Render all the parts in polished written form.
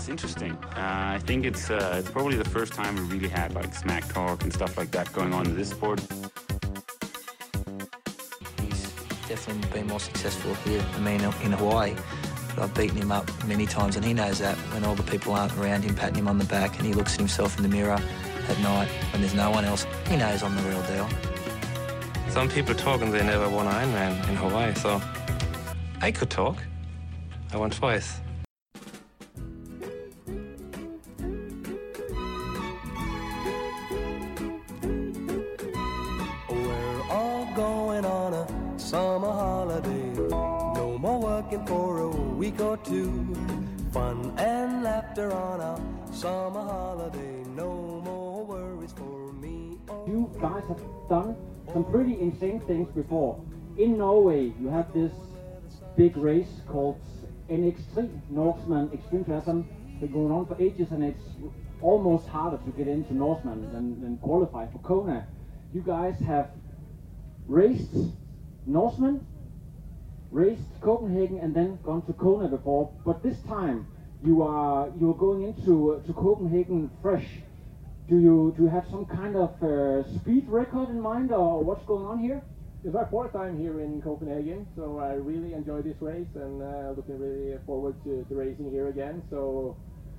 it's interesting. I think it's probably the first time we really had like smack talk and stuff like that going on in this sport. He's definitely been more successful here than me in Hawaii. But I've beaten him up many times, and he knows that when all the people aren't around him patting him on the back and he looks at himself in the mirror at night when there's no one else, he knows I'm the real deal. Some people talk and they never won Ironman in Hawaii, so I could talk. I won twice. We're all going on a summer holiday. No more working for a week or two. Fun and laughter on our summer holiday. No more worries for me. You guys have done some pretty insane things before. In Norway, you have this big race called NX3, Norseman Extreme Triathlon. It's been going on for ages, and it's almost harder to get into Norseman than qualify for Kona. You guys have raced Norseman, raced Copenhagen, and then gone to Kona before. But this time, you are going into Copenhagen fresh. Do you have some kind of speed record in mind, or what's going on here? It's my fourth time here in Copenhagen, so I really enjoy this race and looking really forward to racing here again. So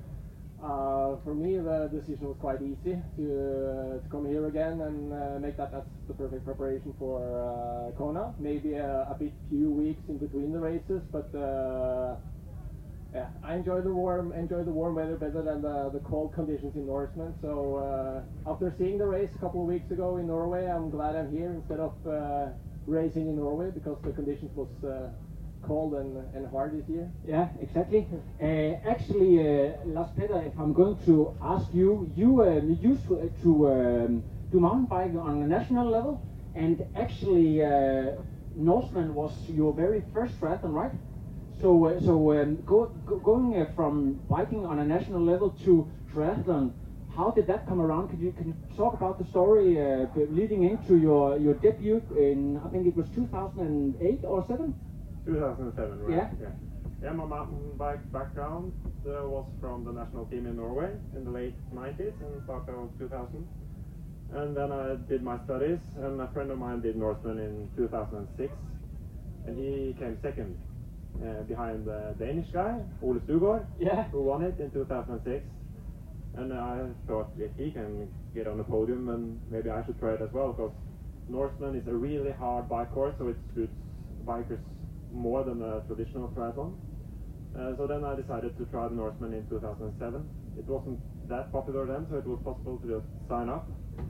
for me, the decision was quite easy to come here again and make that the perfect preparation for Kona. Maybe a bit few weeks in between the races, but yeah, I enjoy the warm weather better than the cold conditions in Norseman. So after seeing the race a couple of weeks ago in Norway, I'm glad I'm here instead of racing in Norway, because the conditions was cold and hard this year. Yeah, exactly. Actually, Lars Petter, if I'm going to ask you, you used to do mountain biking on a national level, and actually Norseman was your very first triathlon, right? So, going from biking on a national level to triathlon, how did that come around? Can you talk about the story leading into your debut in, I think it was 2008 or 7? 2007, right? Yeah. Yeah, my mountain bike background was from the national team in Norway in the late 90s and start of 2000. And then I did my studies, and a friend of mine did Norseman in 2006, and he came second. Behind the Danish guy, Ole Stugård, yeah, who won it in 2006. And I thought, if he can get on the podium, then maybe I should try it as well, because Norseman is a really hard bike course, so it suits bikers more than a traditional triathlon. So then I decided to try the Norseman in 2007. It wasn't that popular then, so it was possible to just sign up.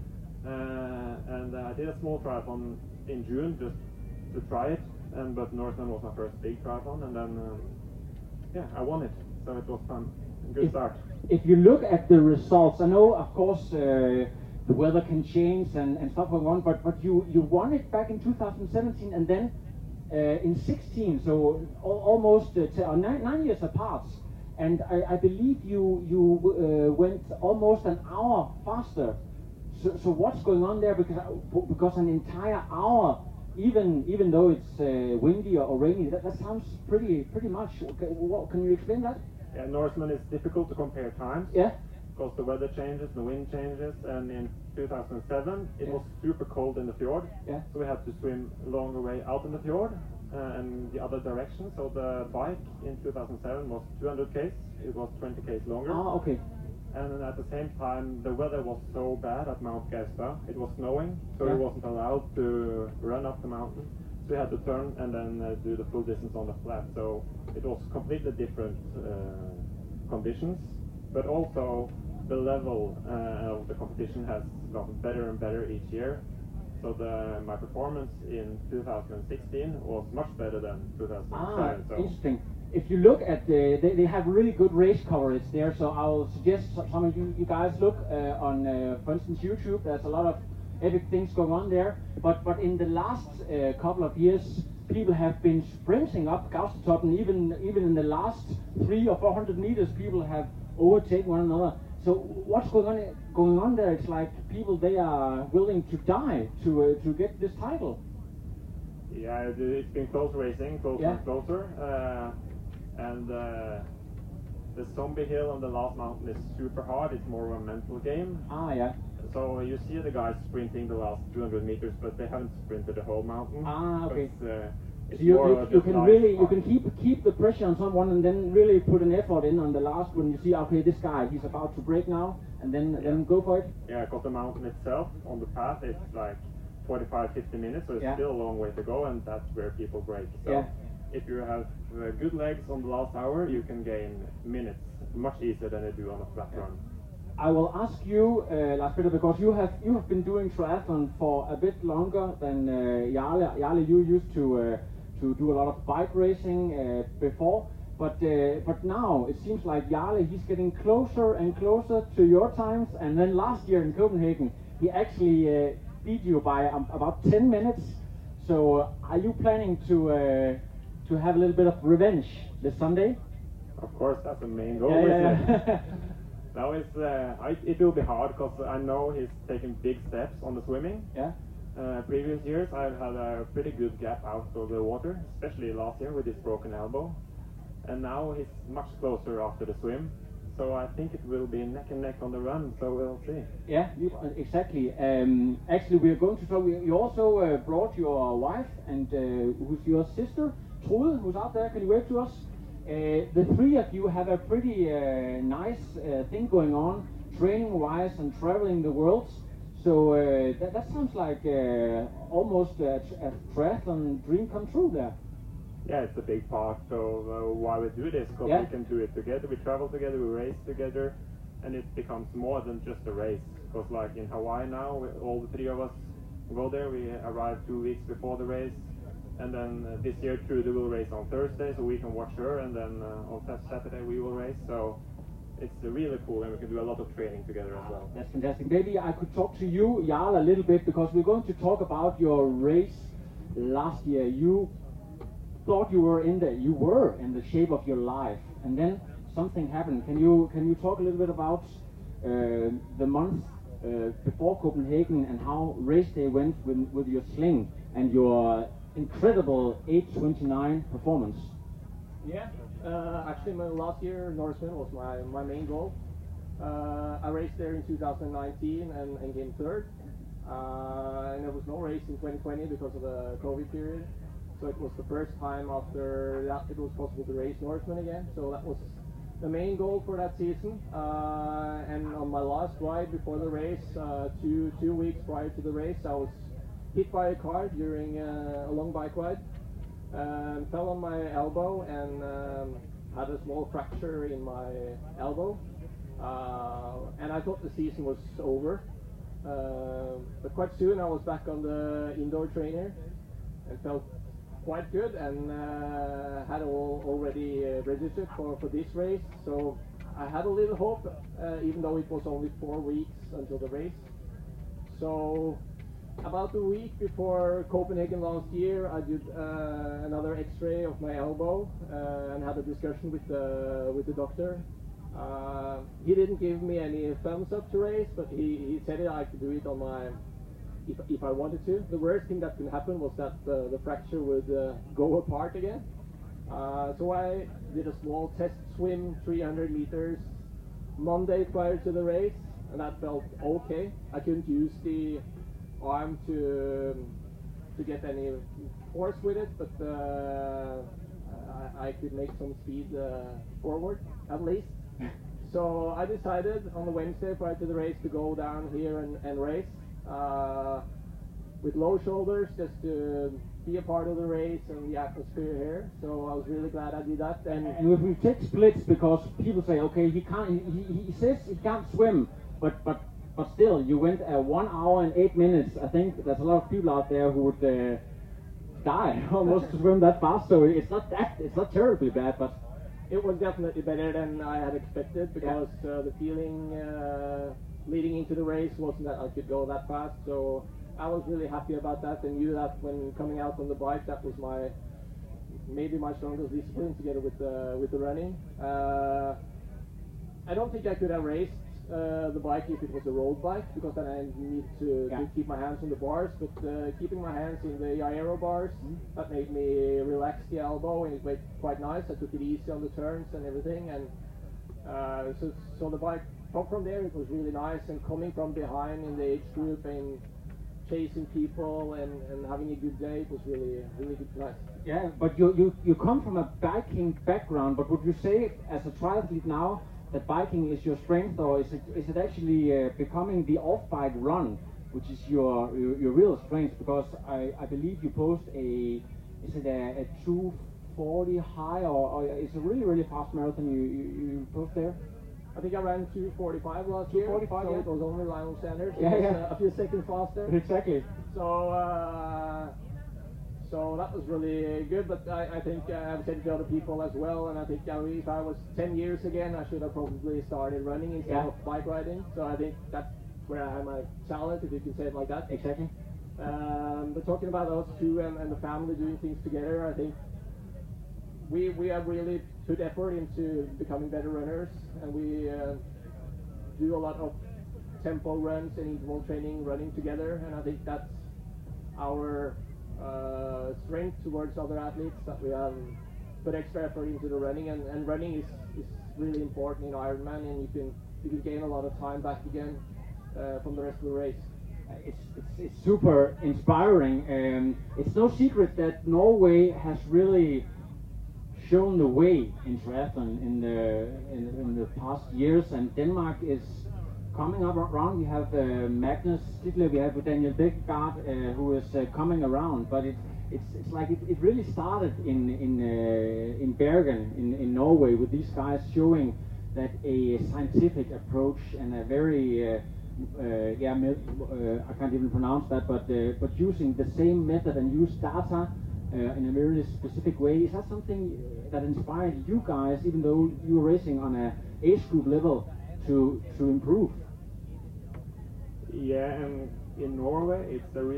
And I did a small triathlon in June just to try it. But Norseman was my first big triathlon, and then yeah, I won it, so it was fun. Good start. If you look at the results, I know, of course, the weather can change and stuff going on, but you won it back in 2017, and then in 16, so almost 9 years apart. And I believe you went almost an hour faster. So what's going on there? Because an entire hour. Even though it's windy or rainy, that sounds pretty much. Can you explain that? Yeah, Norseman is difficult to compare times. Yeah. Because the weather changes, the wind changes, and in 2007 it was super cold in the fjord. Yeah. So we had to swim a longer way out in the fjord and the other direction. So the bike in 2007 was 200 k's. It was 20 k's longer. Ah, okay. And at the same time, the weather was so bad at Mount Gaustad. It was snowing, so we wasn't allowed to run up the mountain. So we had to turn and then do the full distance on the flat. So it was completely different conditions, but also the level of the competition has gotten better and better each year. So my performance in 2016 was much better than 2007. Ah, so interesting. If you look at they have really good race coverage there, so I'll suggest some of you guys look on, for instance, YouTube. There's a lot of epic things going on there. But in the last couple of years, people have been sprinting up Gaustatoppen. Even in the last 300 or 400 meters, people have overtaken one another. So what's going on there? It's like people, they are willing to die to get this title. Yeah, it's been close racing, closer and closer. And the zombie hill on the last mountain is super hard. It's more of a mental game. Ah, yeah. So you see the guys sprinting the last 200 meters, but they haven't sprinted the whole mountain. Ah, okay. It's So you just can nice really you part. can keep the pressure on someone and then really put an effort in on the last when you see, okay, this guy, he's about to break now, and then go for it. Yeah, because the mountain itself on the path it's like 45-50 minutes, so it's Yeah. still a long way to go, and that's where people break. So Yeah. if you have good legs on the last hour, you can gain minutes much easier than you do on a flat run. I will ask you, Lars Peter, because you have been doing triathlon for a bit longer than Jarle. Jarle, you used to do a lot of bike racing before, but now it seems like Jarle, he's getting closer and closer to your times. And then last year in Copenhagen, he actually beat you by about 10 minutes. So are you planning to have a little bit of revenge this Sunday? Of course, that's the main goal. Yeah. Now it will be hard because I know he's taking big steps on the swimming. Yeah. Previous years I've had a pretty good gap out of the water, especially last year with his broken elbow. And now he's much closer after the swim. So I think it will be neck and neck on the run, so we'll see. Yeah, exactly. Actually, we are going to talk. You also brought your wife and who's your sister, Trude, who's out there. Can you wave to us? The three of you have a pretty nice thing going on, training-wise and traveling the world. So that sounds like almost a triathlon dream come true there. Yeah, it's a big part of why we do this, because Yeah. we can do it together. We travel together, we race together, and it becomes more than just a race. Because like in Hawaii now, all the three of us go there. We arrive 2 weeks before the race. And then this year Trude will race on Thursday, so we can watch her, and then on Saturday we will race. So it's really cool, and we can do a lot of training together as well. That's fantastic. Maybe I could talk to you, Jarle, a little bit, because we're going to talk about your race last year. You thought you were in the shape of your life, and then something happened. Can you talk a little bit about the month before Copenhagen and how race day went with your sling and your incredible 8:29 performance? Yeah, actually my last year Norseman was my main goal. I raced there in 2019 and came third. And there was no race in 2020 because of the COVID period. So it was the first time after that it was possible to race Norseman again. So that was the main goal for that season. And on my last ride before the race, two weeks prior to the race, I was hit by a car during a long bike ride. Fell on my elbow and had a small fracture in my elbow. And I thought the season was over. But quite soon I was back on the indoor trainer and felt quite good, and had already registered for this race. So I had a little hope, even though it was only 4 weeks until the race. So about a week before Copenhagen last year, I did another X-ray of my elbow and had a discussion with the doctor. He didn't give me any thumbs up to race, but he said I could do it on my if I wanted to. The worst thing that could happen was that the fracture would go apart again. So I did a small test swim, 300 meters, Monday prior to the race, and that felt okay. I couldn't use the arm to get any force with it, but I could make some speed forward at least. So I decided on the Wednesday prior to the race to go down here and race with low shoulders, just to be a part of the race and the atmosphere here. So I was really glad I did that. And if we take splits, because people say, okay, he can't. He says he can't swim, but still, you went 1 hour and 8 minutes. I think there's a lot of people out there who would die almost to swim that fast. So it's not terribly bad, but it was definitely better than I had expected, because the feeling leading into the race wasn't that I could go that fast. So I was really happy about that, and knew that when coming out on the bike, that was maybe my strongest discipline, together with the running. I don't think I could have raced the bike if it was a road bike, because then I need to keep my hands on the bars. But keeping my hands in the aero bars, that made me relax the elbow, and it made quite nice. I took it easy on the turns and everything, and So the bike from there, it was really nice, and coming from behind in the age group and chasing people and having a good day, it was really good, nice. Yeah, but you come from a biking background, but would you say as a triathlete now that biking is your strength, or is it actually becoming the off-bike run, which is your real strength? Because I believe you post a 240 high, or it's a really fast marathon you post there. I think I ran 2:45 last year. 2:45, yeah. It was only Lionel Sanders. Yeah, it was, yeah. A few seconds faster. Exactly. So that was really good, but I think I've said it to other people as well, and I think if I was 10 years again, I should have probably started running instead of bike riding. So I think that's where I have my talent, if you can say it like that. Exactly. But talking about us two and the family doing things together, I think we have really put effort into becoming better runners, and we do a lot of tempo runs and interval training running together, and I think that's our strength towards other athletes, that we have put extra effort into the running, and running is really important in Ironman, and you can gain a lot of time back again from the rest of the race. It's super inspiring. It's no secret that Norway has really shown the way in triathlon in the past years, and Denmark is coming up around. We have Magnus Stidler, we have Daniel Bækgaard, who is coming around, but it's like it really started in Bergen in Norway, with these guys showing that a scientific approach and a very I can't even pronounce that, but using the same method and use data in a very specific way. Is that something that inspired you guys, even though you were racing on a age group level, to improve? Yeah, and in Norway,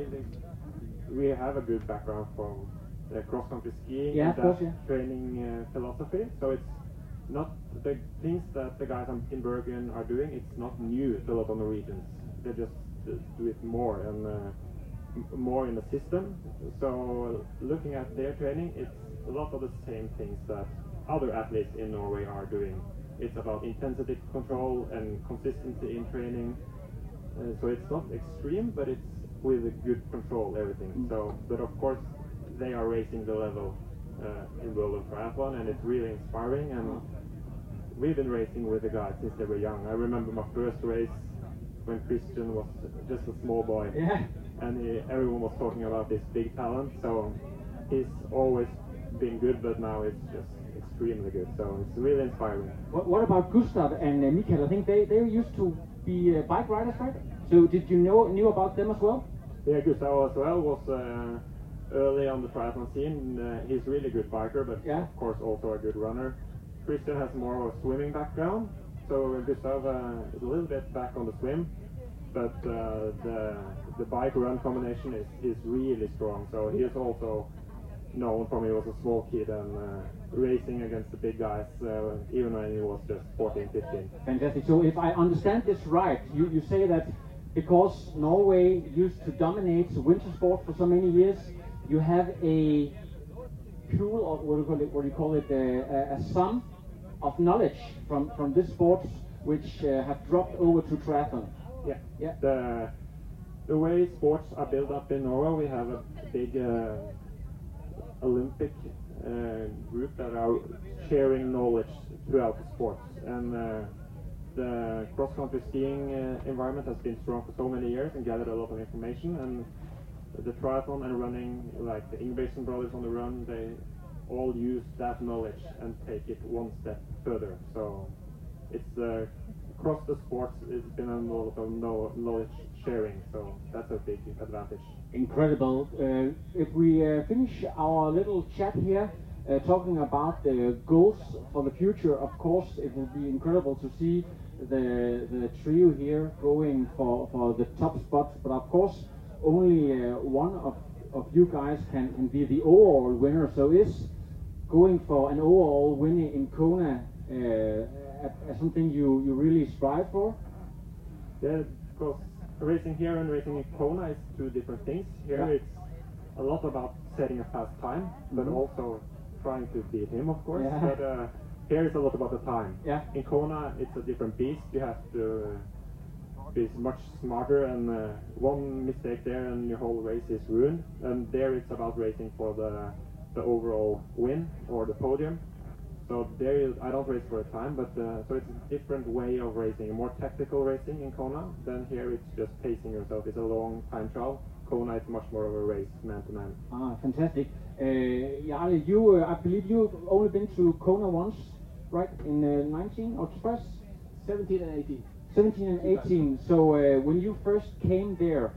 we have a good background from cross-country skiing and that training philosophy. So it's not the things that the guys in Bergen are doing. It's not new to a lot of Norwegians. They just do it more and more in the system. So looking at their training, it's a lot of the same things that other athletes in Norway are doing. It's about intensity control and consistency in training. So it's not extreme, but it's with a good control, everything. So, but of course, they are raising the level in World of Triathlon, and it's really inspiring. And we've been racing with the guys since they were young. I remember my first race when Christian was just a small boy, and everyone was talking about this big talent. So he's always been good, but now it's just extremely good. So it's really inspiring. What about Gustav and Mikael? I think they used to be bike riders, right? So did you knew about them as well? Yeah, Gustav as well was early on the triathlon scene. He's a really good biker, but of course also a good runner. Christian has more of a swimming background, so Gustav is a little bit back on the swim, but the bike-run combination is really strong. So he is also known from he was a small kid and racing against the big guys, even when he was just 14, 15. Fantastic. So if I understand this right, you say that because Norway used to dominate winter sport for so many years, you have a pool of what do you call it, a sum of knowledge from this sport which have dropped over to triathlon. Yeah. The way sports are built up in Norway, we have a big Olympic group that are sharing knowledge throughout the sports, and the cross-country skiing environment has been strong for so many years and gathered a lot of information, and the triathlon and running, like the Ingebrigtsen brothers on the run, they all use that knowledge and take it one step further. So it's across the sports, it's been a lot of knowledge sharing, so that's a big advantage. Incredible. If we finish our little chat here, talking about the goals for the future, of course it will be incredible to see the trio here going for the top spots, but of course only one of you guys can be the overall winner. So is going for an overall winner in Kona something you really strive for? Yeah, because racing here and racing in Kona is two different things. Here it's a lot about setting a fast time, but also trying to beat him, of course. But here it's a lot about the time. Yeah. In Kona, it's a different beast. You have to be much smarter, and one mistake there and your whole race is ruined. And there it's about racing for the overall win or the podium. So there I don't race for a time, but so it's a different way of racing, more tactical racing in Kona. Then here it's just pacing yourself. It's a long time trial. Kona is much more of a race, man to man. Ah, fantastic. Jarle, you, I believe you've only been to Kona once, right? In 19 or twice? 17 and 18. 17 and 18. So when you first came there,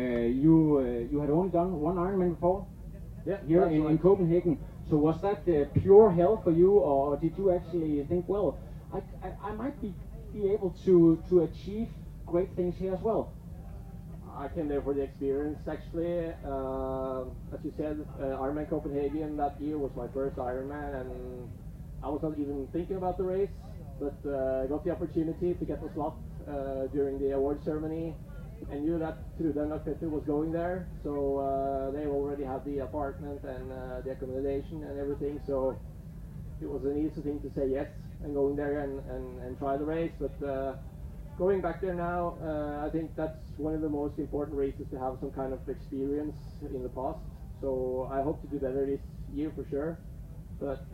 you had only done one Ironman before? Yeah, here in Copenhagen. So was that pure hell for you, or did you actually think, well, I might be able to achieve great things here as well? I came there for the experience, actually. As you said, Ironman Copenhagen that year was my first Ironman, and I was not even thinking about the race, but I got the opportunity to get the slot during the award ceremony. I knew that Trude Petter was going there, so they already had the apartment and the accommodation and everything, so it was an easy thing to say yes and going there and try the race. But going back there now, I think that's one of the most important races to have some kind of experience in the past. So I hope to do better this year for sure. But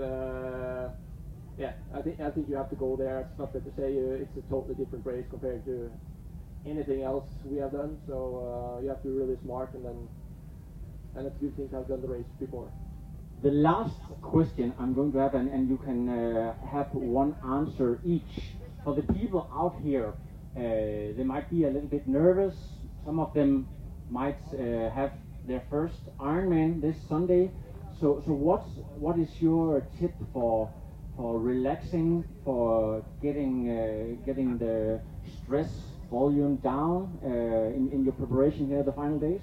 yeah, I think you have to go there. It's not fair to say it's a totally different race compared to anything else we have done. So you have to be really smart, and it's a good thing to have done the race before. The last question I'm going to have, and you can have one answer each. For the people out here, they might be a little bit nervous. Some of them might have their first Ironman this Sunday. So what is your tip for relaxing, for getting the stress volume down in your preparation here the final days?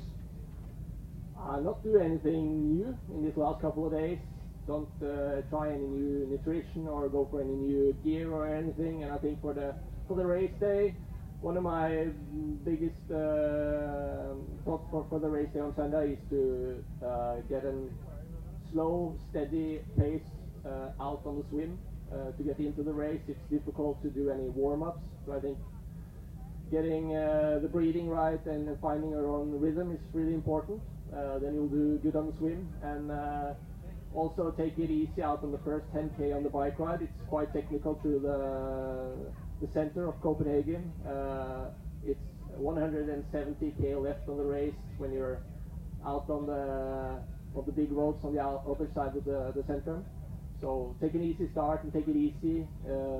Not do anything new in these last couple of days. Don't try any new nutrition or go for any new gear or anything. And I think for the race day, one of my biggest thoughts for the race day on Sunday is to get a slow, steady pace out on the swim to get into the race. It's difficult to do any warm-ups, so I think getting the breathing right and finding your own rhythm is really important. Then you'll do good on the swim, and also take it easy out on the first 10k on the bike ride. It's quite technical through the center of Copenhagen. It's 170k left on the race when you're out on the big roads on the other side of the center. So take an easy start and take it easy.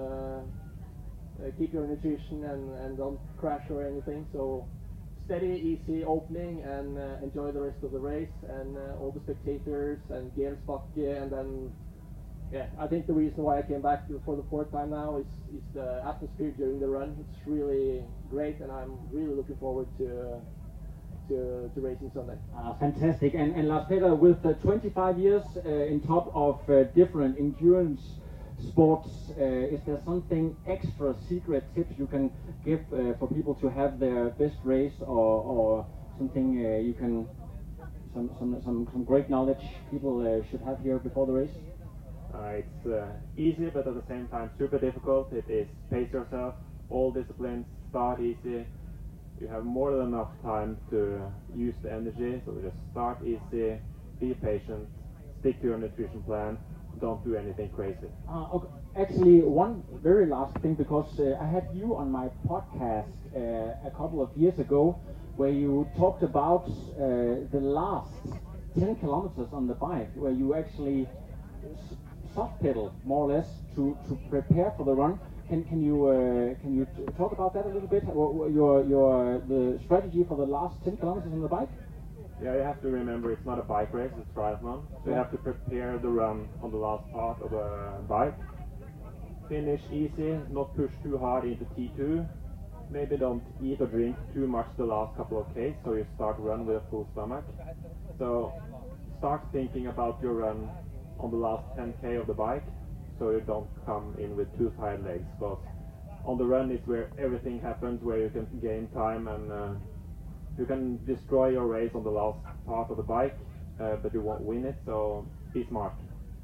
Keep your nutrition and don't crash or anything. So steady, easy opening, and enjoy the rest of the race and all the spectators and Gensbakke. And then, yeah, I think the reason why I came back for the fourth time now is the atmosphere during the run. It's really great, and I'm really looking forward to racing Sunday. Fantastic. And Lars Petter, with 25 years in top of different endurance sports, is there something extra secret tips you can give for people to have their best race, or something you can some great knowledge people should have here before the race? It's easy, but at the same time super difficult. It is pace yourself, all disciplines, start easy. You have more than enough time to use the energy, so just start easy, be patient, stick to your nutrition plan, don't do anything crazy. Okay. Actually, one very last thing, because I had you on my podcast a couple of years ago, where you talked about the last 10 kilometers on the bike, where you actually soft pedal more or less to prepare for the run. Can you talk about that a little bit? The strategy for the last 10 kilometers on the bike? Yeah, you have to remember it's not a bike race, it's a triathlon. So you have to prepare the run on the last part of the bike. Finish easy, not push too hard into T2. Maybe don't eat or drink too much the last couple of Ks, so you start run with a full stomach. So start thinking about your run on the last 10k of the bike, so you don't come in with too tired legs. Because on the run is where everything happens, where you can gain time and you can destroy your race on the last part of the bike, but you won't win it, so be smart.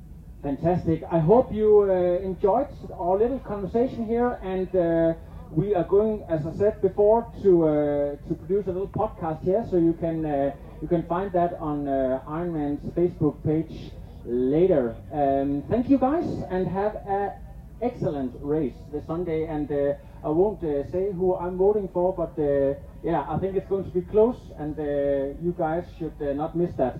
Fantastic. I hope you enjoyed our little conversation here, and we are going, as I said before, to produce a little podcast here, so you can find that on Ironman's Facebook page later. Thank you guys, and have an excellent race this Sunday. And I won't say who I'm voting for, but yeah, I think it's going to be close, and you guys should not miss that.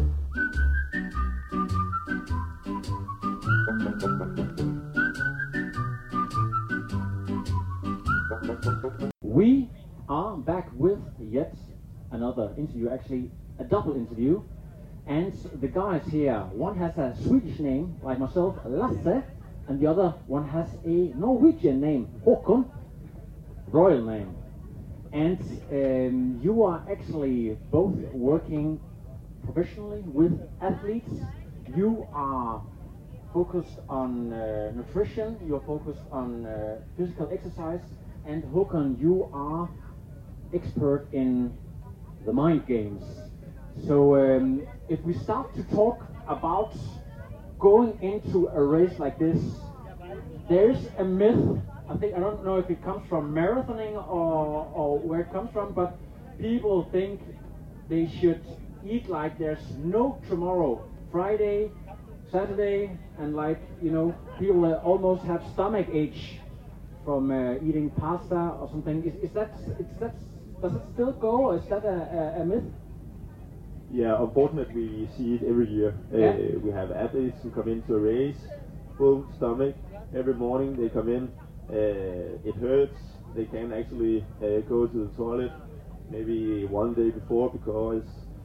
We are back with yet another interview, actually a double interview, and the guys here, one has a Swedish name like myself, Lasse, and the other one has a Norwegian name, Håkon, royal name. And you are actually both working professionally with athletes. You are focused on nutrition, you're focused on physical exercise, and Håkon, you are expert in the mind games. So if we start to talk about going into a race like this, there's a myth. I don't know if it comes from marathoning or where it comes from, but people think they should eat like there's no tomorrow. Friday, Saturday, and like, you know, people almost have stomach ache from eating pasta or something. Does it still go, or is that a myth? Yeah, unfortunately we see it every year. We have athletes who come into a race, full stomach, every morning they come in, it hurts, they can't actually go to the toilet maybe one day before, because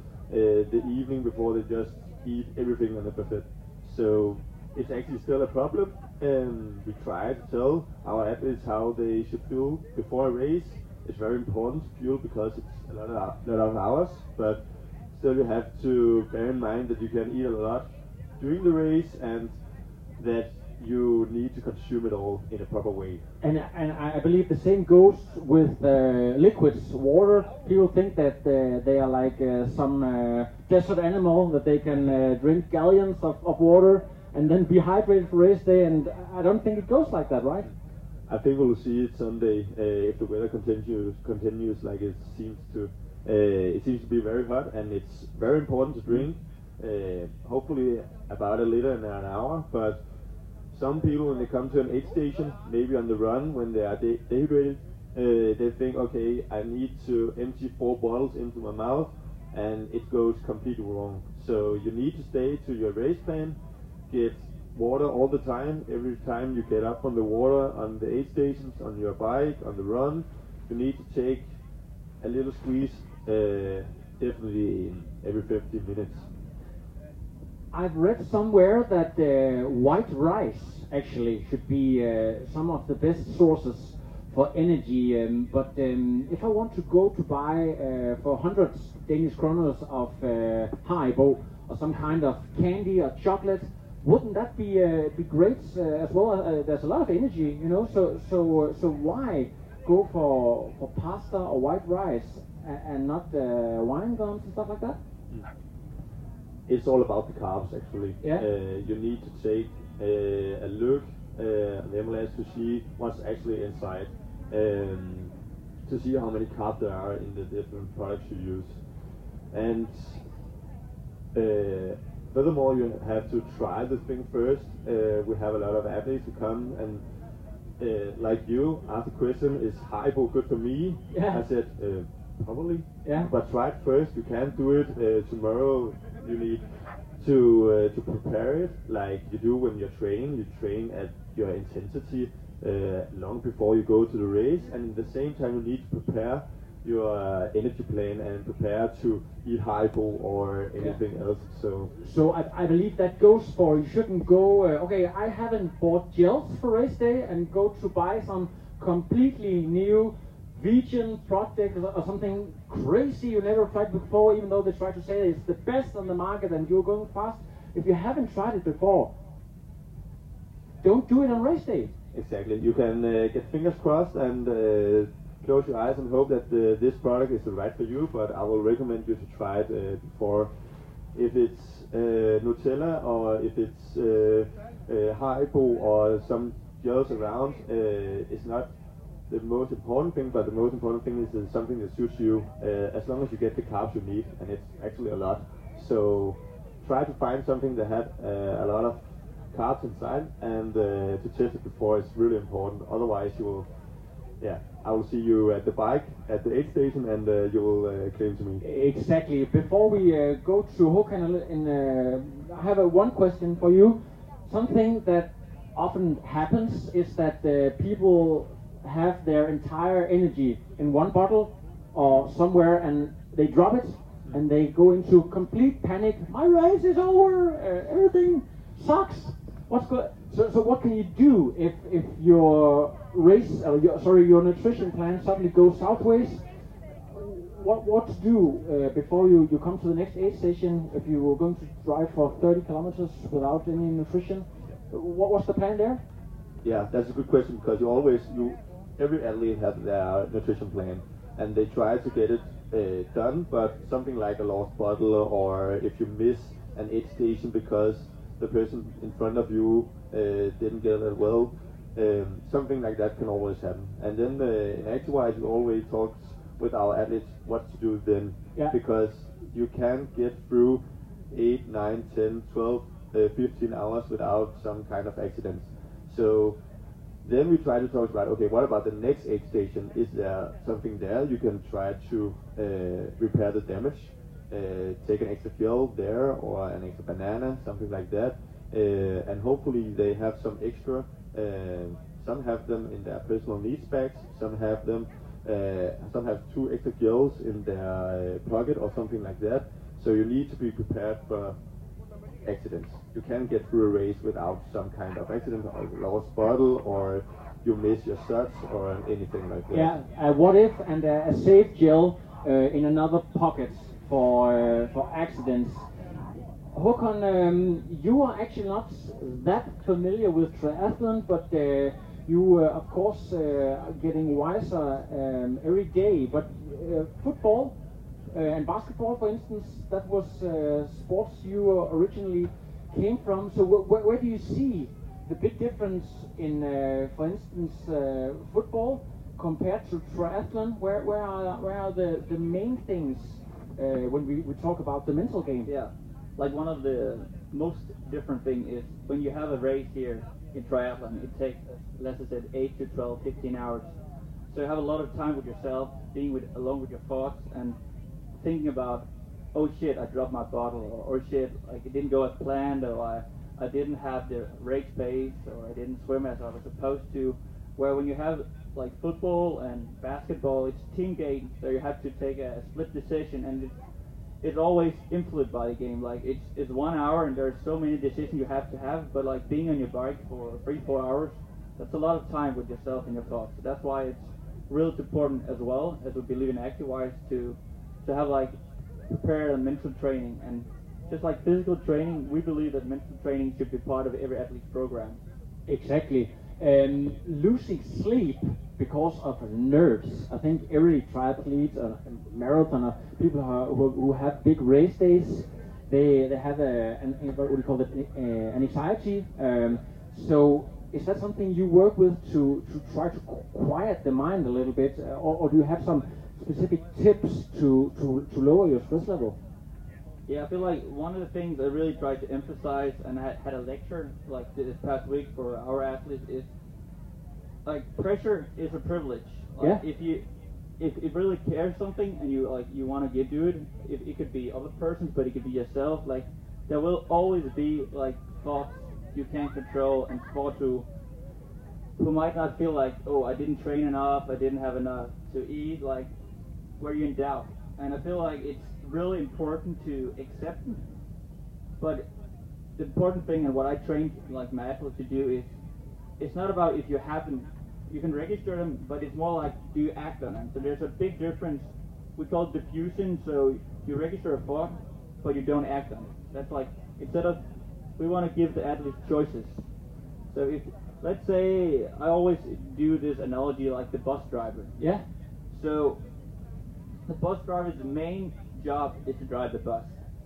the evening before they just eat everything on the buffet. So it's actually still a problem, and we try to tell our athletes how they should fuel before a race. It's very important to fuel because it's a lot of hours, but still you have to bear in mind that you can eat a lot during the race, and that you need to consume it all in a proper way. And I believe the same goes with liquids, water. People think that they are like some desert animal, that they can drink gallons of water and then be hydrated for race day, and I don't think it goes like that, right? I think we'll see it Sunday if the weather continues like it seems to. It seems to be very hot, and it's very important to drink. Hopefully about a liter in an hour, but some people, when they come to an aid station, maybe on the run, when they are dehydrated, they think, okay, I need to empty 4 bottles into my mouth, and it goes completely wrong. So you need to stay to your race plan, get water all the time. Every time you get up from the water on the aid stations, on your bike, on the run, you need to take a little squeeze, definitely in every 15 minutes. I've read somewhere that white rice actually should be some of the best sources for energy, but if I want to go to buy for 100 Danish kroners of Haribo or some kind of candy or chocolate, wouldn't that be great as well? There's a lot of energy, you know, so why go for pasta or white rice and not wine gums and stuff like that? It's all about the carbs, actually. Yeah. You need to take a look on the MLS to see what's actually inside, to see how many carbs there are in the different products you use. And furthermore, you have to try the thing first. We have a lot of athletes who come and, like you, ask the question, is Haribo good for me? Yeah. I said, probably. Yeah. But try it first. You can't do it tomorrow. You need to prepare it like you do when you're training. You train at your intensity long before you go to the race, and at the same time you need to prepare your energy plan and prepare to eat Haribo or anything else. So I believe that goes for, you shouldn't go, okay, I haven't bought gels for race day and go to buy some completely new vegan product or something crazy you never tried before, even though they try to say it's the best on the market and you're going fast. If you haven't tried it before, don't do it on race day. Exactly. You can get fingers crossed and close your eyes and hope that this product is the right for you, but I will recommend you to try it before. If it's Nutella or if it's Haribo or some gels around, is not the most important thing, but the most important thing is something that suits you, as long as you get the carbs you need, and it's actually a lot. So try to find something that had a lot of carbs inside, and to test it before is really important. Otherwise you will, I will see you at the bike at the aid station, and you will claim to me. Exactly. Before we go to Håkan, I have one question for you. Something that often happens is that people have their entire energy in one bottle or somewhere, and they drop it, and they go into complete panic. My race is over. Everything sucks. So what can you do if your race, your nutrition plan suddenly goes sideways? What to do before you come to the next aid station if you were going to drive for 30 kilometers without any nutrition? What's the plan there? Yeah, that's a good question, because every athlete has their nutrition plan, and they try to get it done, but something like a lost bottle, or if you miss an aid station because the person in front of you didn't get it well, something like that can always happen. And then in ActiveWise we always talk with our athletes what to do then, because you can't get through 8, 9, 10, 12, 15 hours without some kind of accidents. So then we try to talk about, okay, what about the next aid station? Is there something there you can try to repair the damage? Take an extra gel there, or an extra banana, something like that. And hopefully they have some extra. Some have them in their personal needs bags. Some have them. Some have 2 extra gels in their pocket or something like that. So you need to be prepared for accidents. You can't get through a race without some kind of accident, or lost bottle, or you miss your shots, or anything like that. Yeah, what if, and a safe gel in another pocket for accidents. Håkan, you are actually not that familiar with triathlon, but you of course are getting wiser every day. But football and basketball, for instance, that was sports you originally came from. So where do you see the big difference in, for instance, football compared to triathlon? Where are the main things when we talk about the mental game? Yeah, like one of the most different thing is when you have a race here in triathlon, it takes, let's say, 8 to 12, 15 hours. So you have a lot of time with yourself, being alone with your thoughts, and thinking about, oh shit, I dropped my bottle, or shit, like it didn't go as planned, or I didn't have the race pace, or I didn't swim as I was supposed to. Where when you have like football and basketball, it's team game, so you have to take a split decision, and it's always influenced by the game. Like it's 1 hour, and there's so many decisions you have to have. But like being on your bike for 3-4 hours, that's a lot of time with yourself and your thoughts. So that's why it's really important as well as we believe in ActiveWise to have like prepare and mental training, and just like physical training, we believe that mental training should be part of every athlete's program. Exactly. Losing sleep because of nerves. I think every triathlete, marathoner, people who have big race days, they have what we call it, an anxiety. So is that something you work with to try to quiet the mind a little bit, or do you have some specific tips to lower your stress level? Yeah, I feel like one of the things I really tried to emphasize, and I had a lecture like this past week for our athletes, is like pressure is a privilege. Like if it really cares something and you want to do it, it could be other persons, but it could be yourself. Like there will always be like thoughts you can't control, and thoughts who might not feel like, oh, I didn't train enough, I didn't have enough to eat, like where you're in doubt. And I feel like it's really important to accept them. But the important thing, and what I train like my athletes to do, is it's not about if you happen, you can register them, but it's more like, do you act on them? So there's a big difference. We call it diffusion. So you register a thought, but you don't act on it. That's like, instead of, we want to give the athletes choices. So if, let's say, I always do this analogy like the bus driver. Yeah. So the bus driver's main job is to drive the bus.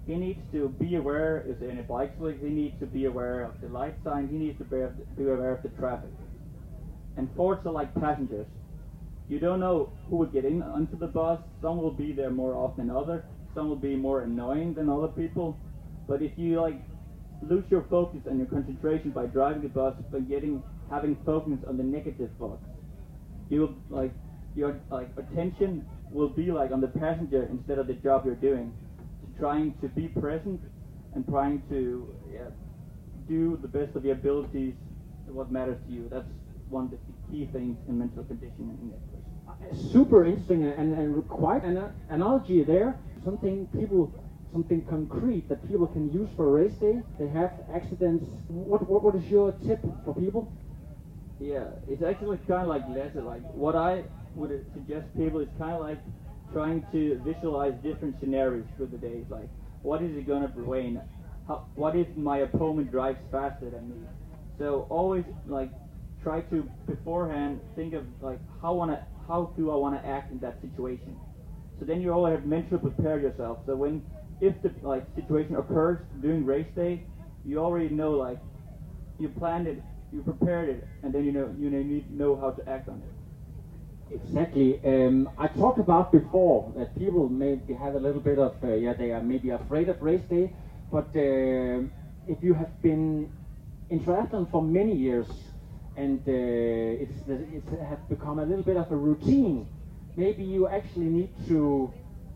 he needs to be aware if there any bike slicks, he needs to be aware of the light signs, he needs to be aware of the traffic. And Fords are like passengers. You don't know who will get in onto the bus. Some will be there more often than others. Some will be more annoying than other people. But if you lose your focus and your concentration by driving the bus, by having focus on the negative thoughts, you your attention will be on the passenger instead of the job you're doing. Trying to be present and trying to do the best of your abilities, what matters to you. That's one of the key things in mental conditioning in that place. Super interesting and quite an analogy there. Something concrete that people can use for a race day. They have accidents. What is your tip for people? Yeah, it's actually kind of like Lasse. What I would suggest people is kind of trying to visualize different scenarios through the days. What is it going to rain? What if my opponent drives faster than me? So always try to beforehand think of how do I want to act in that situation. So then you always have mentally prepare yourself. So if the situation occurs during race day, you already know you planned it, you prepared it, and then you need to know how to act on it. Exactly. I talked about before that people maybe have a little bit of they are maybe afraid of race day, but if you have been in triathlon for many years and it has become a little bit of a routine, maybe you actually need to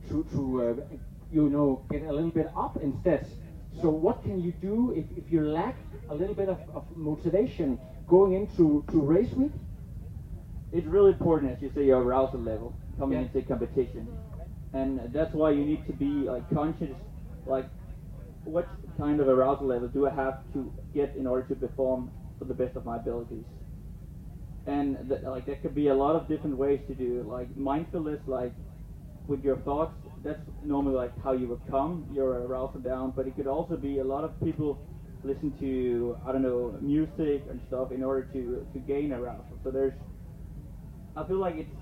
get a little bit up instead. So what can you do if you lack a little bit of motivation going into race week? It's really important, as you say, your arousal level coming into competition, and that's why you need to be conscious, what kind of arousal level do I have to get in order to perform for the best of my abilities. And there could be a lot of different ways to do mindfulness, with your thoughts. That's normally how you would calm your arousal down, but it could also be a lot of people listen to music and stuff in order to gain arousal. So I feel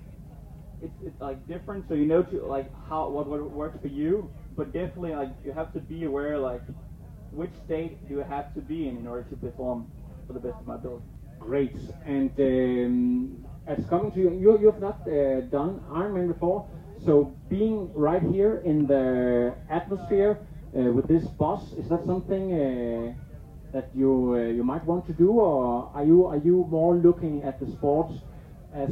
it's different, so what works for you, but definitely you have to be aware which state do you have to be in order to perform for the best of my ability. Great. And as coming to you have not done Ironman before, so being right here in the atmosphere with this bus, is that something that you might want to do, or are you more looking at the sport as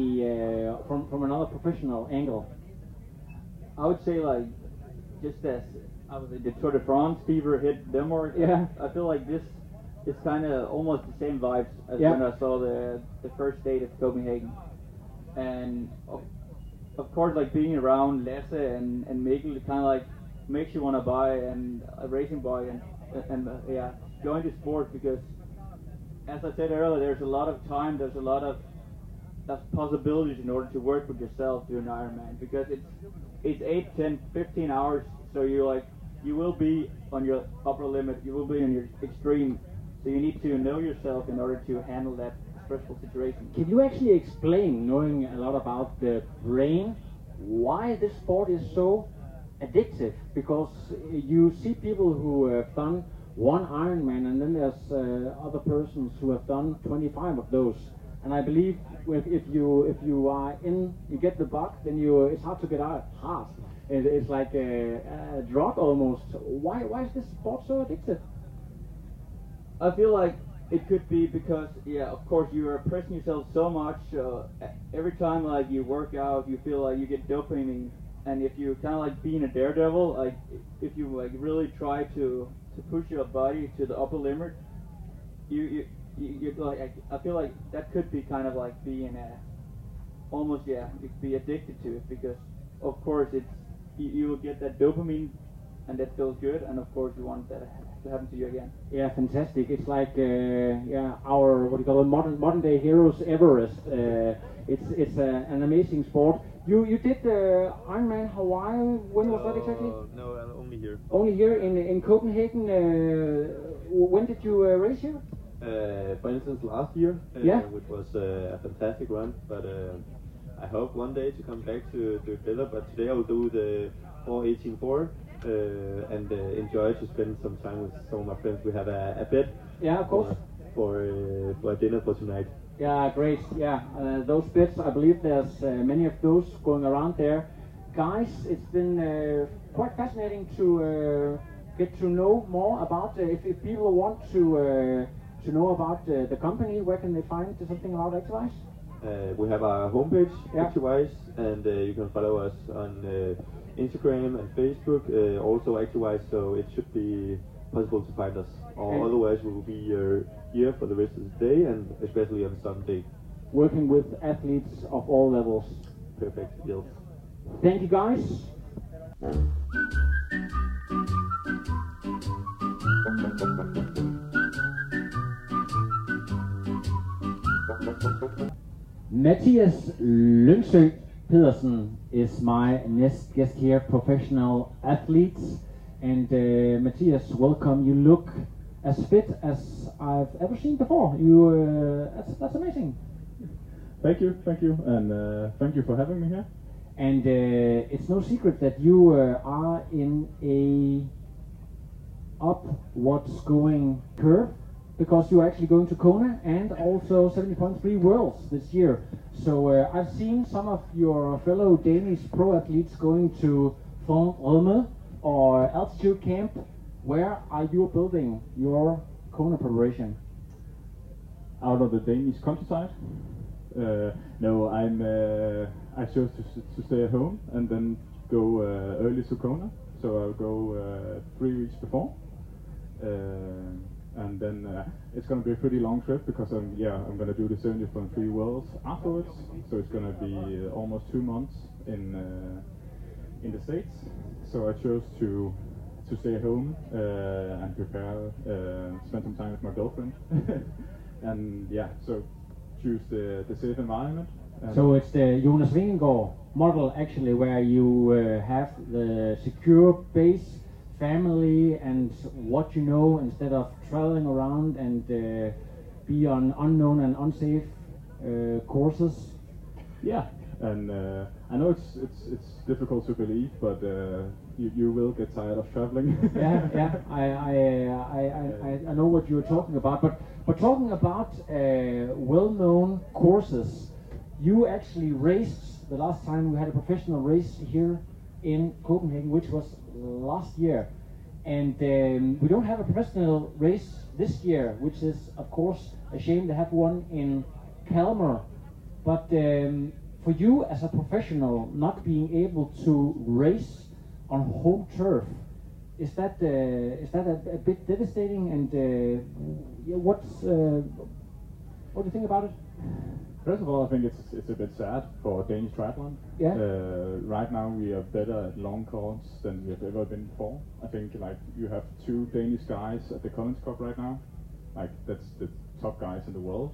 from another professional angle? I would say just as the Tour de France fever hit Denmark. Yeah. I feel this is kind of almost the same vibes as when I saw the first date at Copenhagen, and of course being around Lasse and Mikkel, it kind of makes you want to buy a racing bike and join the sport, because as I said earlier, there's a lot of time, there's a lot of possibilities in order to work with yourself during Ironman, because it's 8, 10, 15 hours, so you will be on your upper limit, you will be on your extreme, so you need to know yourself in order to handle that stressful situation. Can you actually explain, knowing a lot about the brain, why this sport is so addictive? Because you see people who have done one Ironman, and then there's other persons who have done 25 of those. And I believe if you are in, you get the bug, then it's hard to get out. Hard. It's like a drug almost. Why is this sport so addictive? I feel it could be because, of course, you are pressing yourself so much. Every time you work out, you feel you get dopamine. And if you kind of being a daredevil, if you really try to push your body to the upper limit, you I feel that could be kind of being almost you could be addicted to it, because of course you will get that dopamine and that feels good, and of course you want that to happen to you again. Yeah, fantastic. It's our modern day heroes Everest. It's an amazing sport. You did Ironman Hawaii. When was that exactly? No, only here. Only here in Copenhagen. When did you race here? For instance, last year, which was a fantastic run. But I hope one day to come back to Villa. But today I will do the 4:18.4. and enjoy to spend some time with some of my friends. We have a bet. Yeah, of course. For a dinner for tonight. Yeah, great. Yeah, those bets, I believe there's many of those going around there. Guys, it's been quite fascinating to get to know more about. If people want to know about the company, where can they find something about Actywise? We have our homepage, Actywise, and you can follow us on Instagram and Facebook, also Actywise, so it should be possible to find us. Or otherwise we will be here for the rest of the day, and especially on Sunday. Working with athletes of all levels. Perfect, yes. Thank you, guys. Mathias Lyngsø Pedersen is my next guest here, professional athletes. And Mathias, welcome. You look as fit as I've ever seen before. That's amazing. Thank you, and thank you for having me here. And it's no secret that you are in a upwards going curve, because you're actually going to Kona and also 70.3 Worlds this year. So I've seen some of your fellow Danish pro athletes going to Font Romeu or altitude camp. Where are you building your Kona preparation? Out of the Danish countryside? No, I chose to stay at home and then go early to Kona. So I'll go 3 weeks before, and then it's going to be a pretty long trip, because I'm going to do the 70.3 Worlds afterwards. So it's going to be almost 2 months in the States. So I chose to stay at home and prepare, spend some time with my girlfriend, and so choose the safe environment. So it's the Jonas Vingegaard model, actually, where you have the secure base, family, and what you know, instead of traveling around and be on unknown and unsafe courses. Yeah, and I know it's difficult to believe, but you will get tired of traveling. I know what you're talking about, but talking about well-known courses, you actually raced the last time we had a professional race here in Copenhagen, which was last year, and we don't have a professional race this year, which is of course a shame. to have one in Kalmar, but for you as a professional, not being able to race on home turf, is that a bit devastating? And what do you think about it? First of all, I think it's a bit sad for Danish triathlon. Yeah. Right now we are better at long course than we have ever been before. I think you have 2 Danish guys at the Collins Cup right now. That's the top guys in the world.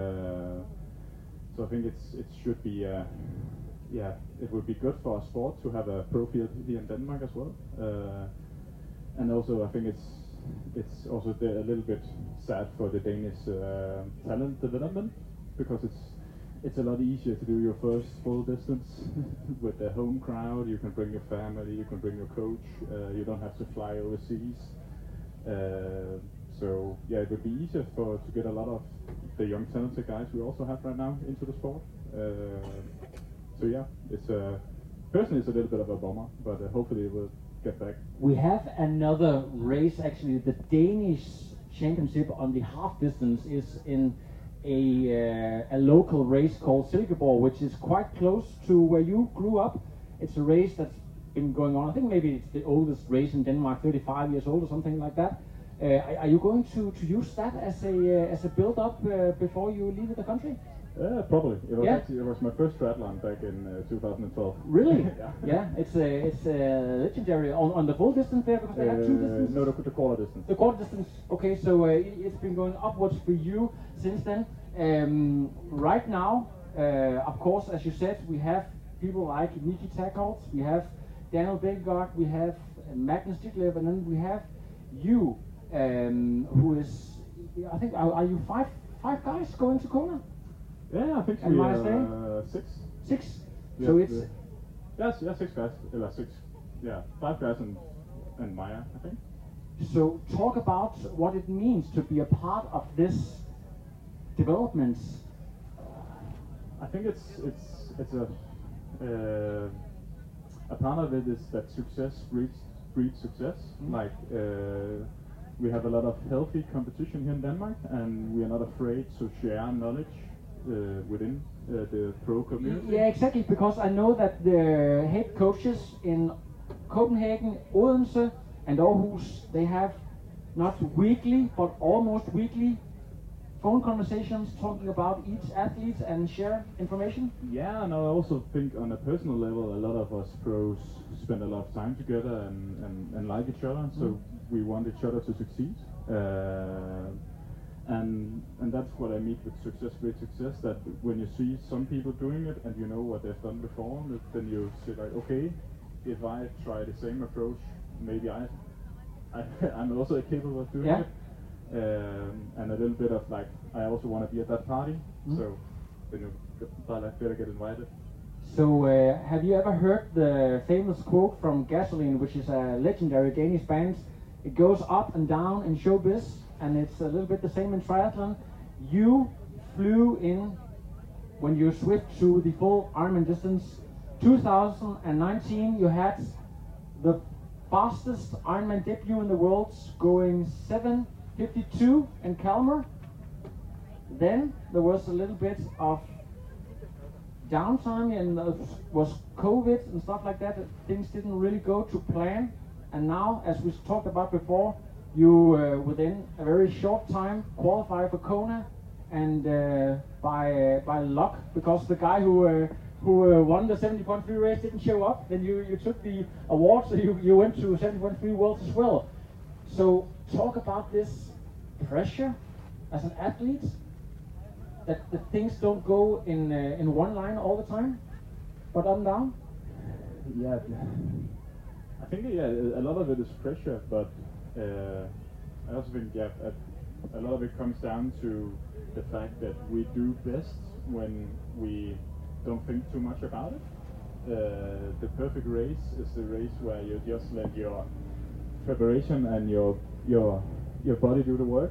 So I think it should be it would be good for our sport to have a pro field here in Denmark as well. And also I think it's also a little bit sad for the Danish talent development, because it's a lot easier to do your first full distance with the home crowd. You can bring your family, you can bring your coach, you don't have to fly overseas. So it would be easier to get a lot of the young talented guys we also have right now into the sport. It's personally it's a little bit of a bummer, but hopefully we'll get back. We have another race, actually. The Danish championship on the half distance is in a local race called Silkeborg, which is quite close to where you grew up. It's a race that's been going on. I think maybe it's the oldest race in Denmark, 35 years old or something like that. Are you going to use that as a build-up before you leave the country? Probably. It was my first triathlon back in 2012. Really? Yeah. It's legendary on the full distance there, because they have 2 distances. No, the quarter distance. The quarter distance. Okay, so it's been going upwards for you since then. Right now, of course, as you said, we have people like Niki Takholt, we have Daniel Bækkegård, we have Magnus Ditlev, and then we have you, who is, I think, are you five guys going to Kona? Yeah, I think we are 6. 6? Yeah, So it's... 6 guys. 6. Yeah, 5 guys and and Maya, I think. So talk about what it means to be a part of this development. I think it's a part of it is that success breeds success. Like we have a lot of healthy competition here in Denmark, and we are not afraid to share knowledge within the pro community. Yeah, exactly, because I know that the head coaches in Copenhagen, Odense and Aarhus, they have not weekly but almost weekly phone conversations talking about each athlete and share information. Yeah, and I also think on a personal level, a lot of us pros spend a lot of time together and like each other, so we want each other to succeed. And that's what I mean with success breeds success, that when you see some people doing it and you know what they've done before, then you say like, okay, if I try the same approach, maybe I'm also capable of doing it. And a little bit of like, I also want to be at that party, so then you better get invited. So have you ever heard the famous quote from Gasoline, which is a legendary Danish band? It goes up and down in showbiz, and it's a little bit the same in triathlon. You flew in when you switched to the full Ironman distance. 2019, you had the fastest Ironman debut in the world, going 7:52 in Kalmar. Then there was a little bit of downtime, and was COVID and stuff like that. Things didn't really go to plan. And now, as we talked about before, you within a very short time qualify for Kona, and by luck, because the guy who won the 70.3 race didn't show up, then you took the award, so you went to 70.3 Worlds as well. So talk about this pressure as an athlete, that the things don't go in one line all the time, but up and down. Yeah, I think a lot of it is pressure, but I also think a lot of it comes down to the fact that we do best when we don't think too much about it. The perfect race is the race where you just let your preparation and your body do the work.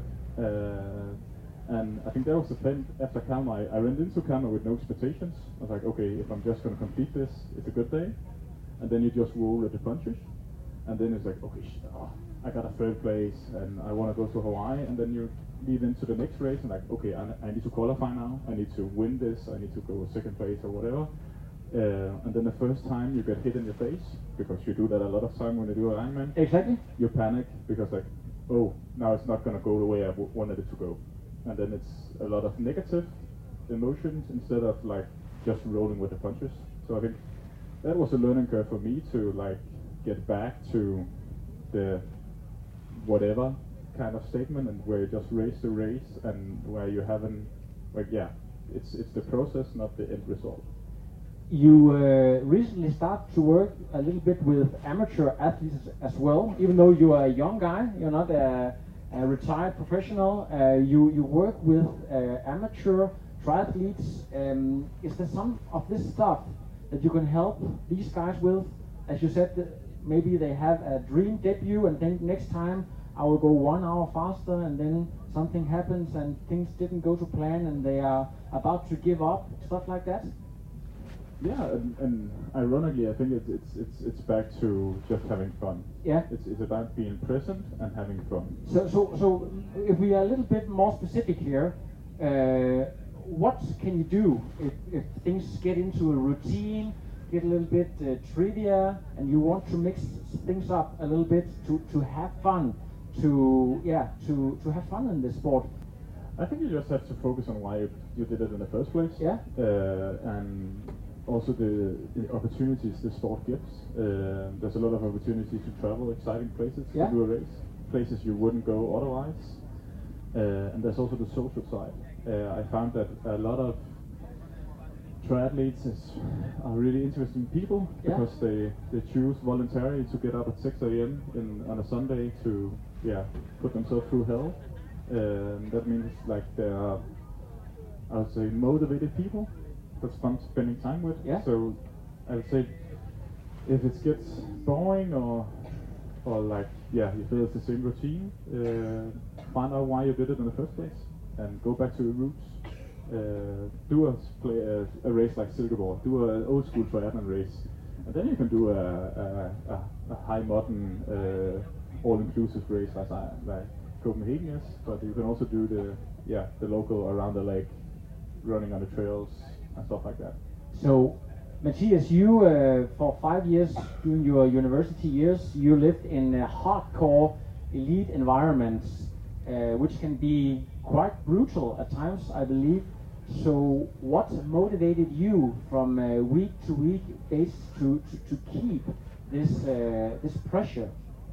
And I think that was the thing after Kalmar. I went into Kalmar with no expectations. I was like, okay, if I'm just going to complete this, it's a good day. And then you just roll with the punches. And then it's like, okay, I got a third place and I want to go to Hawaii. And then you lead into the next race and like, okay, I need to qualify now. I need to win this. I need to go second place or whatever. And then the first time you get hit in your face, because you do that a lot of time when you do an Ironman. Exactly. You panic because like, oh, now it's not going to go the way I wanted it to go. And then it's a lot of negative emotions instead of like just rolling with the punches. So I think that was a learning curve for me to like get back to the whatever kind of statement, and where you just race the race and where you haven't, like, yeah, it's the process, not the end result. You recently started to work a little bit with amateur athletes as well, even though you are a young guy, you're not a retired professional. You work with amateur triathletes. Is there some of this stuff that you can help these guys with? As you said, maybe they have a dream debut and think next time I will go 1 hour faster, and then something happens and things didn't go to plan and they are about to give up, stuff like that. Yeah, and ironically, I think it's back to just having fun. Yeah. It's about being present and having fun. So if we are a little bit more specific here, what can you do if things get into a routine, get a little bit trivia, and you want to mix things up a little bit to have fun, to have fun in this sport? I think you just have to focus on why you did it in the first place. Yeah. And also the opportunities the sport gives. There's a lot of opportunities to travel exciting places to do a race, places you wouldn't go otherwise. And there's also the social side. I found that a lot of triathletes are really interesting people, because they choose voluntarily to get up at 6 a.m. on a Sunday to put themselves through hell. That means like they are, I would say, motivated people that's fun spending time with. So I would say if it gets boring or or like, yeah, you feel it's the same routine, find out why you did it in the first place, and go back to your roots. Do a race like Silkeborg, do an old school triathlon race, and then you can do a high modern all-inclusive race like Copenhagen is, but you can also do the local around the lake, running on the trails and stuff like that. So, Mathias, you for 5 years during your university years, you lived in hardcore elite environments, which can be quite brutal at times, I believe. So, what motivated you from week to week basis to keep this pressure?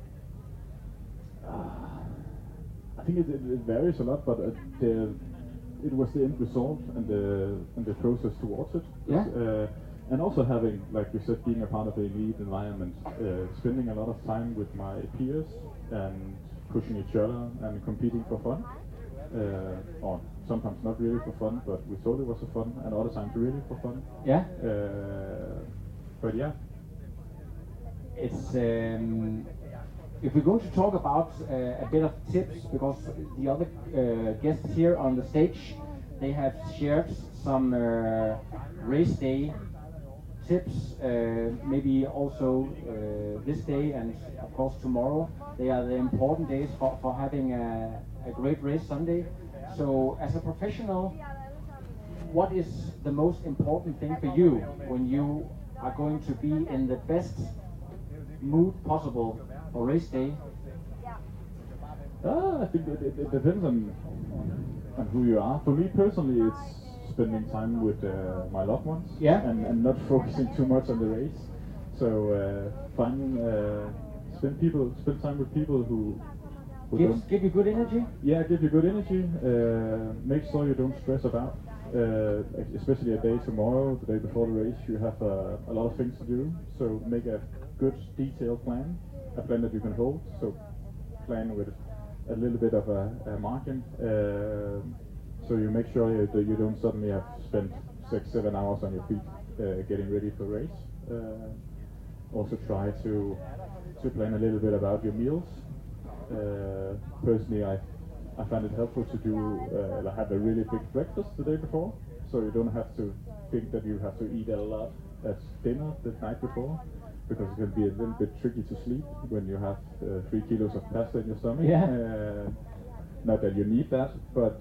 I think it varies a lot, but it was the end result and the process towards it. Yeah. And also having, like you said, being a part of the elite environment, spending a lot of time with my peers and pushing each other and competing for fun. Or sometimes not really for fun, but we thought it was for fun, and other times really for fun. Yeah. But yeah. It's if we're going to talk about a bit of tips, because the other guests here on the stage, they have shared some race day tips, maybe also this day and of course tomorrow. They are the important days for having a great race Sunday. So as a professional, what is the most important thing for you when you are going to be in the best mood possible for race day? I think it depends on who you are. For me personally, it's spending time with my loved ones, yeah, and not focusing too much on the race. So spend time with people who give you good energy. Yeah, give you good energy. Make sure you don't stress about. Especially a day tomorrow, the day before the race, you have a lot of things to do. So make a good detailed plan, a plan that you can hold. So plan with a little bit of a margin. So you make sure that you don't suddenly have spent 6-7 hours on your feet getting ready for race. Also try to plan a little bit about your meals. Personally, I find it helpful to do have a really big breakfast the day before, so you don't have to think that you have to eat a lot at dinner the night before, because it can be a little bit tricky to sleep when you have 3 kilos of pasta in your stomach. Yeah. Not that you need that, but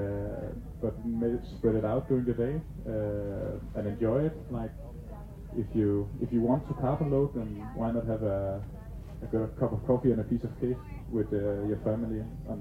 maybe spread it out during the day and enjoy it. Like if you want to carb load, then why not have a good cup of coffee and a piece of cake with your family on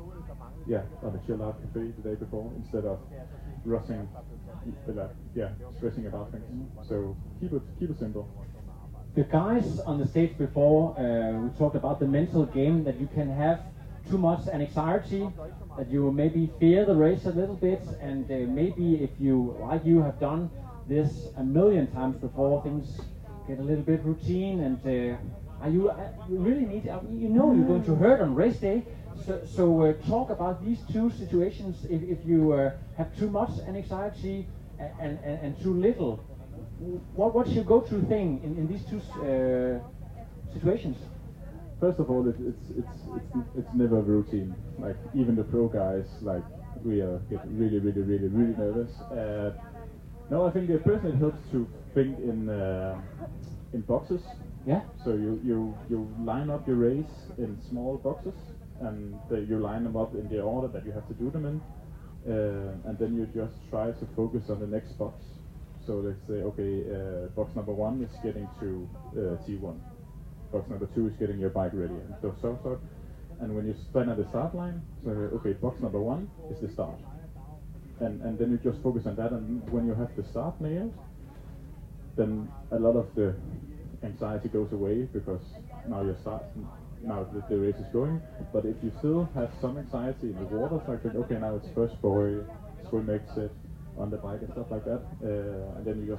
a chill out cafe the day before, instead of rushing, stressing about things. So keep it simple. The guys on the stage before, we talked about the mental game, that you can have too much anxiety, that you maybe fear the race a little bit, and maybe if you, like you, have done this a million times before, things get a little bit routine, and you really need, you're going to hurt on race day. So talk about these two situations. If you have too much anxiety and too little, what's your go-to thing in these two situations? First of all, it's never routine. Like even the pro guys, like we get really nervous. No, I think personally it helps to think in boxes. Yeah. So you line up your race in small boxes, and you line them up in the order that you have to do them in, and then you just try to focus on the next box. So let's say, okay, box number 1 is getting to T1. Box number 2 is getting your bike ready, and so. And when you stand at the start line, so okay, box number 1 is the start, and then you just focus on that. And when you have the start nailed, then a lot of the anxiety goes away, because now the race is going. But if you still have some anxiety in the water, so I think, okay, now it's first buoy, swim exit on the bike and stuff like that, and then you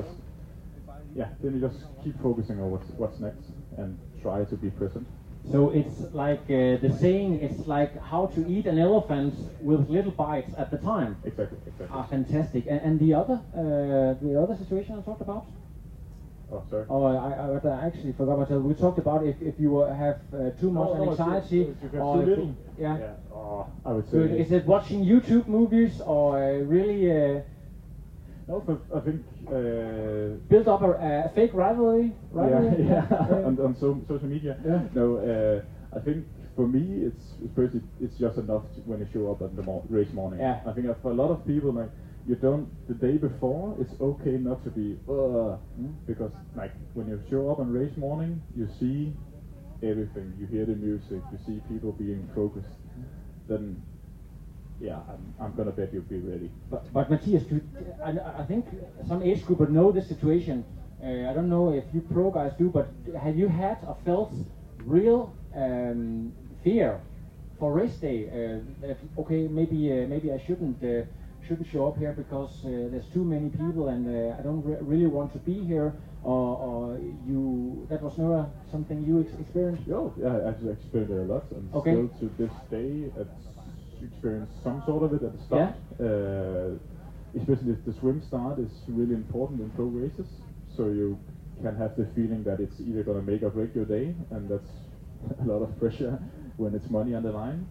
just keep focusing on what's next and try to be present. So it's like the saying, it's like how to eat an elephant with little bites at the time. Exactly. Fantastic. And the other situation I talked about? Oh, sorry. Oh, I actually forgot myself. We talked about if you have too much anxiety or yeah. Oh, I would say. So is it watching YouTube movies or really? No, but I think build up a fake rivalry. On social media. Yeah. No, I think for me it's just enough when you show up at the race morning. Yeah. I think for a lot of people, like, you don't, the day before, it's okay not to be because, like, when you show up on race morning, you see everything, you hear the music, you see people being focused, then yeah, I'm gonna bet you'll be ready. But Mathias, I think some age group would know this situation. I don't know if you pro guys do, but have you had or felt real fear for race day? Okay, maybe I shouldn't show up here because there's too many people and I don't really want to be here, or you, that was never something you experienced? Oh, yeah, I actually experienced it a lot, and still to this day experience some sort of it at the start. Yeah. Especially if the swim start is really important in pro races, so you can have the feeling that it's either going to make or break your day, and that's a lot of pressure when it's money on the line.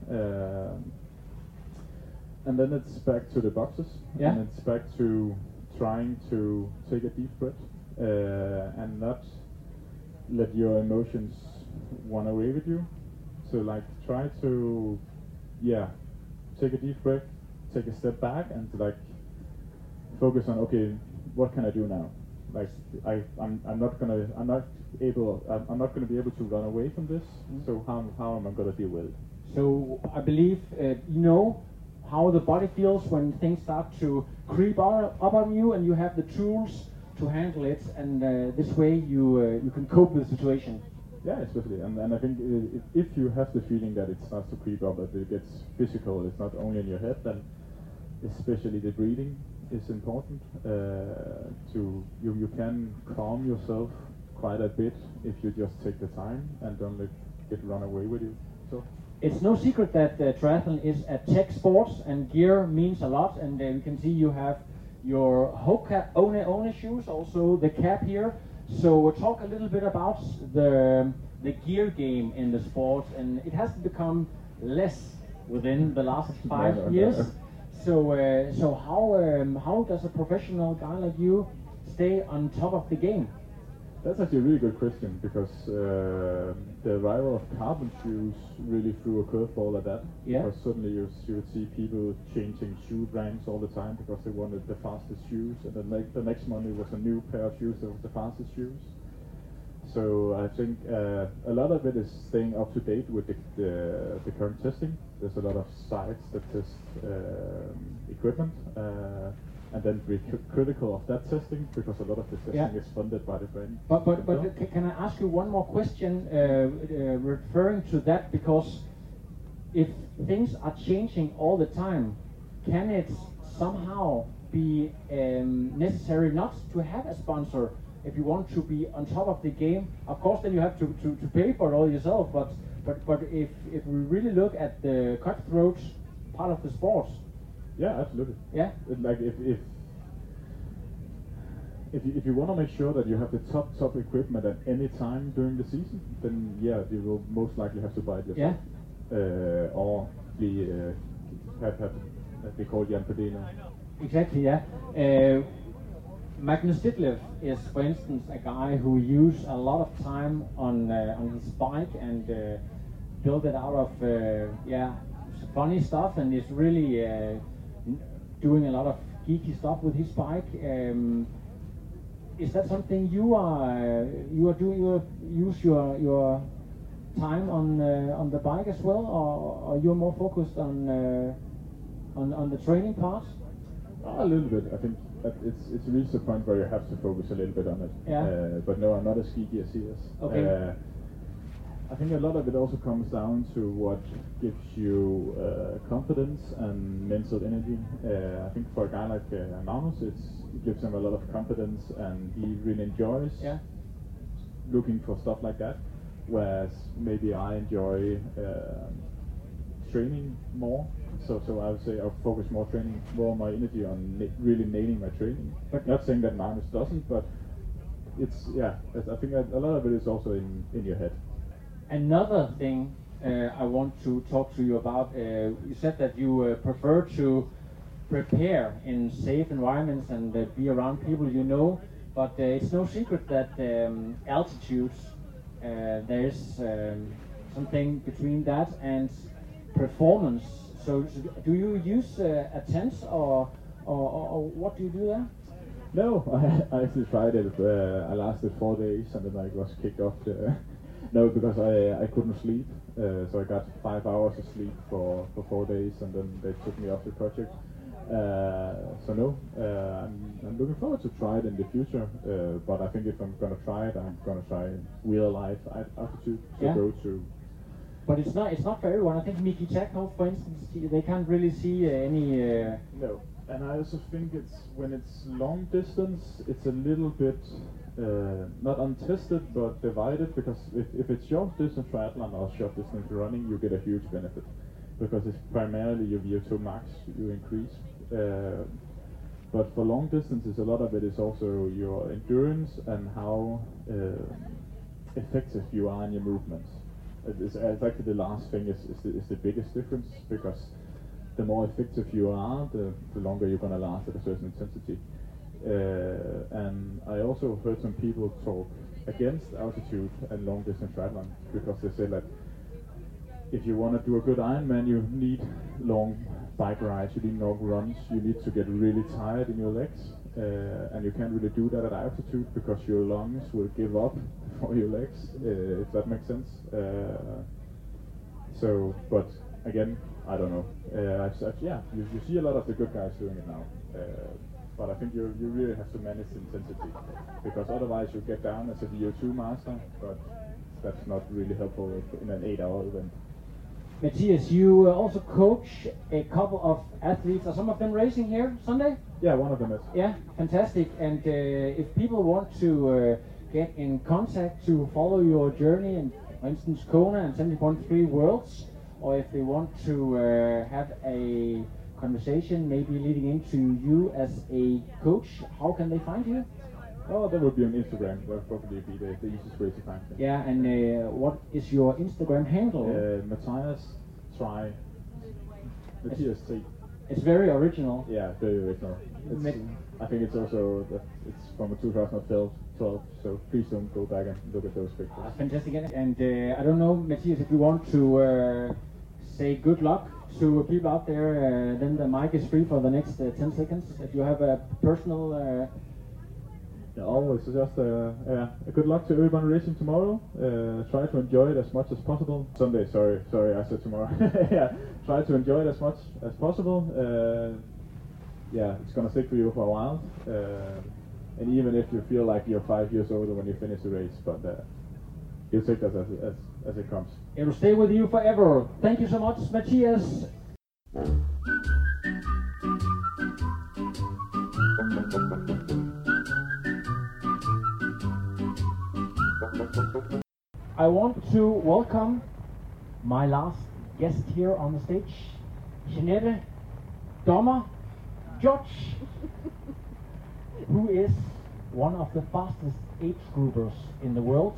And then it's back to the boxes, and it's back to trying to take a deep breath and not let your emotions run away with you. So, like, try to, take a deep breath, take a step back, and like focus on, okay, what can I do now? Like, I'm not gonna be able to run away from this. So how am I gonna deal with it? So I believe you know how the body feels when things start to creep up on you, and you have the tools to handle it, and this way you can cope with the situation. Yeah, especially, and I think if you have the feeling that it starts to creep up, that it gets physical, it's not only in your head, then especially the breathing is important. You can calm yourself quite a bit if you just take the time and don't let it run away with you. So. It's no secret that triathlon is a tech sport, and gear means a lot, and we can see you have your Hoka One shoes, also the cap here. So we'll talk a little bit about the gear game in the sport, and it has become less within the last 5 years. So how does a professional guy like you stay on top of the game? That's actually a really good question, because the arrival of carbon shoes really threw a curveball at that. Yeah. Because suddenly you would see people changing shoe brands all the time because they wanted the fastest shoes, and then the next month it was a new pair of shoes that was the fastest shoes. So I think a lot of it is staying up to date with the current testing. There's a lot of sites that test equipment. And then be critical of that testing, because a lot of the testing is funded by the brand. But can I ask you one more question referring to that? Because if things are changing all the time, can it somehow be necessary not to have a sponsor if you want to be on top of the game? Of course, then you have to pay for it all yourself. But if we really look at the cutthroat part of the sport. Yeah, absolutely. Yeah. Like if you want to make sure that you have the top equipment at any time during the season, then you will most likely have to buy it yourself. Yeah. Or be called Jan Frodeno. Exactly. Yeah. Magnus Ditlev is, for instance, a guy who used a lot of time on his bike and built it out of funny stuff, and is really doing a lot of geeky stuff with his bike. Is that something you are doing? You use your time on the bike as well, or you're more focused on the training part? A little bit. I think that it's reached a point where you have to focus a little bit on it. Yeah. But no, I'm not as geeky as he is. Okay. I think a lot of it also comes down to what gives you confidence and mental energy. I think for a guy like Magnus, it gives him a lot of confidence, and he really enjoys looking for stuff like that. Whereas maybe I enjoy training more. So I would say I'll focus more my energy on really nailing my training. But not saying that Magnus doesn't, but I think a lot of it is also in your head. Another thing I want to talk to you about. You said that you prefer to prepare in safe environments and be around people you know, but it's no secret that altitude, there's something between that and performance. So do you use a tent or what do you do there? No, I actually tried it. I lasted 4 days and then I was kicked off. No, because I couldn't sleep. So I got 5 hours of sleep for 4 days and then they took me off the project. So no, I'm looking forward to try it in the future. But I think if I'm gonna try it, I'm gonna try real life altitude to go to. But it's not for everyone. I think Miki Chekov, for instance, they can't really see any. No. And I also think when it's long distance, it's a little bit not untested but divided, because if it's short distance triathlon or short distance running, you get a huge benefit because it's primarily your VO2 max you increase. But for long distances, a lot of it is also your endurance and how effective you are in your movements. It's actually the last thing is the biggest difference, because the more effective you are, the longer you're going to last at a certain intensity. And I also heard some people talk against altitude and long distance triathlon, because they say that if you want to do a good Ironman, you need long bike rides, you need long runs, you need to get really tired in your legs, and you can't really do that at altitude because your lungs will give up before your legs, if that makes sense. So, but again, I don't know. You see a lot of the good guys doing it now, but I think you really have to manage the intensity, because otherwise you get down as a VO2 master, but that's not really helpful in an 8-hour event. Matthias, you also coach a couple of athletes. Are some of them racing here Sunday? Yeah, one of them is. Yeah, fantastic. And if people want to get in contact to follow your journey, and for instance Kona and 70.3 Worlds, or if they want to have a conversation maybe leading into you as a coach, how can they find you? Oh, that would be on Instagram. That would probably be the easiest way to find me. Yeah, and what is your Instagram handle? Matthias Try. Matthias T. It's very original. Yeah, very original. I think it's also it's from 2012, so please don't go back and look at those pictures. Fantastic. And I don't know, Matthias, if you want to say good luck to people out there, then the mic is free for the next 10 seconds. If you have a personal... always just good luck to everyone racing tomorrow. Try to enjoy it as much as possible. Sunday, sorry, I said tomorrow. Yeah, try to enjoy it as much as possible. It's gonna stick with you for a while. And even if you feel like you're 5 years older when you finish the race, but you'll take that as it comes. It'll stay with you forever. Thank you so much, Matthias. I want to welcome my last guest here on the stage, Jeanette Dommer Judge, who is one of the fastest age groupers in the world.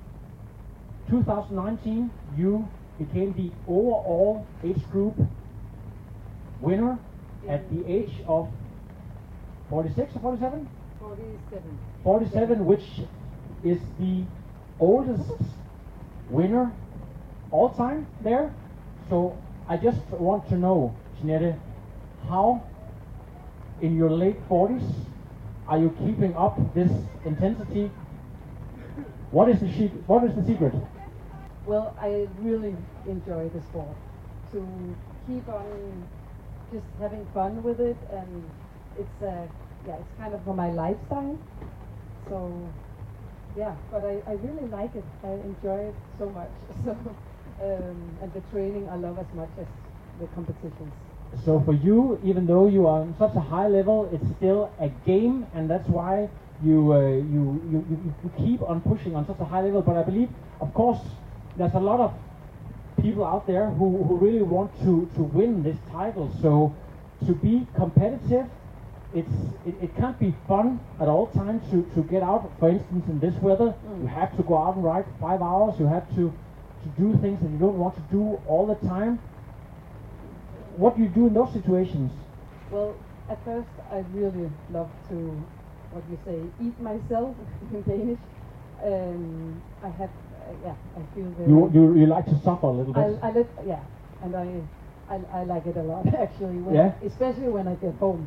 2019, you became the overall age group winner at the age of 46 or 47? 47. 47, which is the oldest winner all time there. So I just want to know, Jeanette, how in your late 40s are you keeping up this intensity? What is the secret? Well, I really enjoy the sport. To keep on just having fun with it, and it's kind of for my lifestyle. So yeah, but I really like it. I enjoy it so much. So and the training I love as much as the competitions. So for you, even though you are on such a high level, it's still a game, and that's why you keep on pushing on such a high level. But I believe, of course, there's a lot of people out there who really want to win this title. So to be competitive it can't be fun at all times to get out. For instance, in this weather, you have to go out and ride 5 hours. You have to do things that you don't want to do all the time. What do you do in those situations? Well, at first I really love to, what you say, eat myself in Danish. I have, I feel very... You like to suffer a little bit? And I like it a lot actually, when especially when I get home.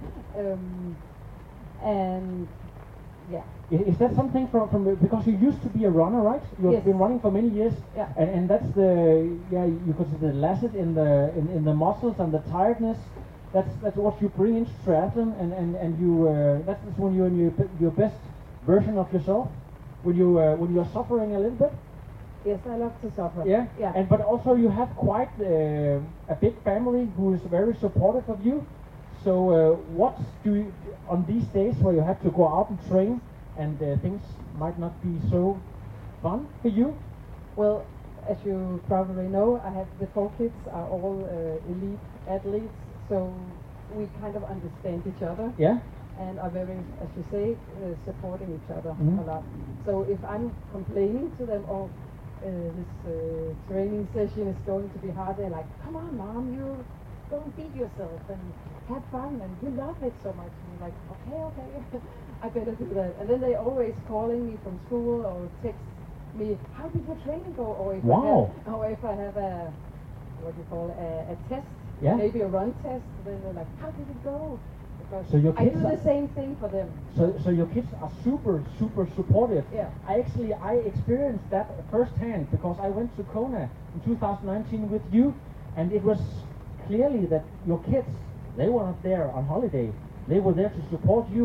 And yeah. Is that something from because you used to be a runner, right? You've been running for many years, and that's you could say the lacet in the muscles and the tiredness. That's what you bring into triathlon, and you that's when you're in your best version of yourself. When you're suffering a little bit. Yes, I love to suffer. Yeah. But also you have quite a big family who is very supportive of you. So what do you, on these days where you have to go out and train and things might not be so fun for you? Well, as you probably know, I have the 4 kids are all elite athletes, so we kind of understand each other. Yeah. And are very, as you say, supporting each other a lot. So if I'm complaining to them, this training session is going to be hard, they're like, come on, Mom, you don't beat yourself and have fun, and you love it so much. And I'm like, okay, I better do that. And then they're always calling me from school or text me, how did your training go? Or if I have a, what do you call, a test, maybe a run test, then they're like, how did it go? So your kids I do the same thing for them. So your kids are super supportive. Yeah. I experienced that firsthand because I went to Kona in 2019 with you, and it was clearly that your kids, they were not there on holiday. They were there to support you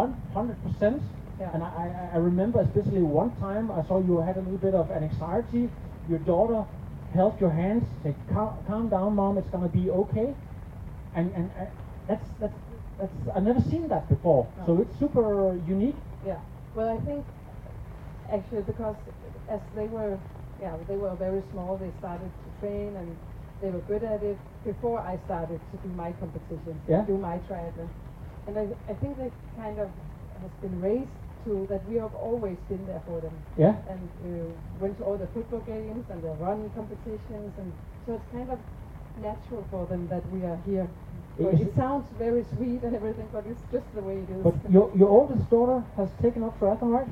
100%. Yeah. And I remember especially one time I saw you had a little bit of an anxiety. Your daughter held your hands, said, "Calm down, Mom. It's gonna be okay." And that's I've never seen that before. No. So it's super unique. Yeah. Well, I think actually because as they were very small, they started to train and they were good at it before I started to do my competition, do my triathlon. And I think they kind of has been raised to that we have always been there for them. Yeah. And went to all the football games and the running competitions, and so it's kind of natural for them that we are here. So it sounds very sweet and everything, but it's just the way it is. But your oldest daughter has taken up triathlon, right?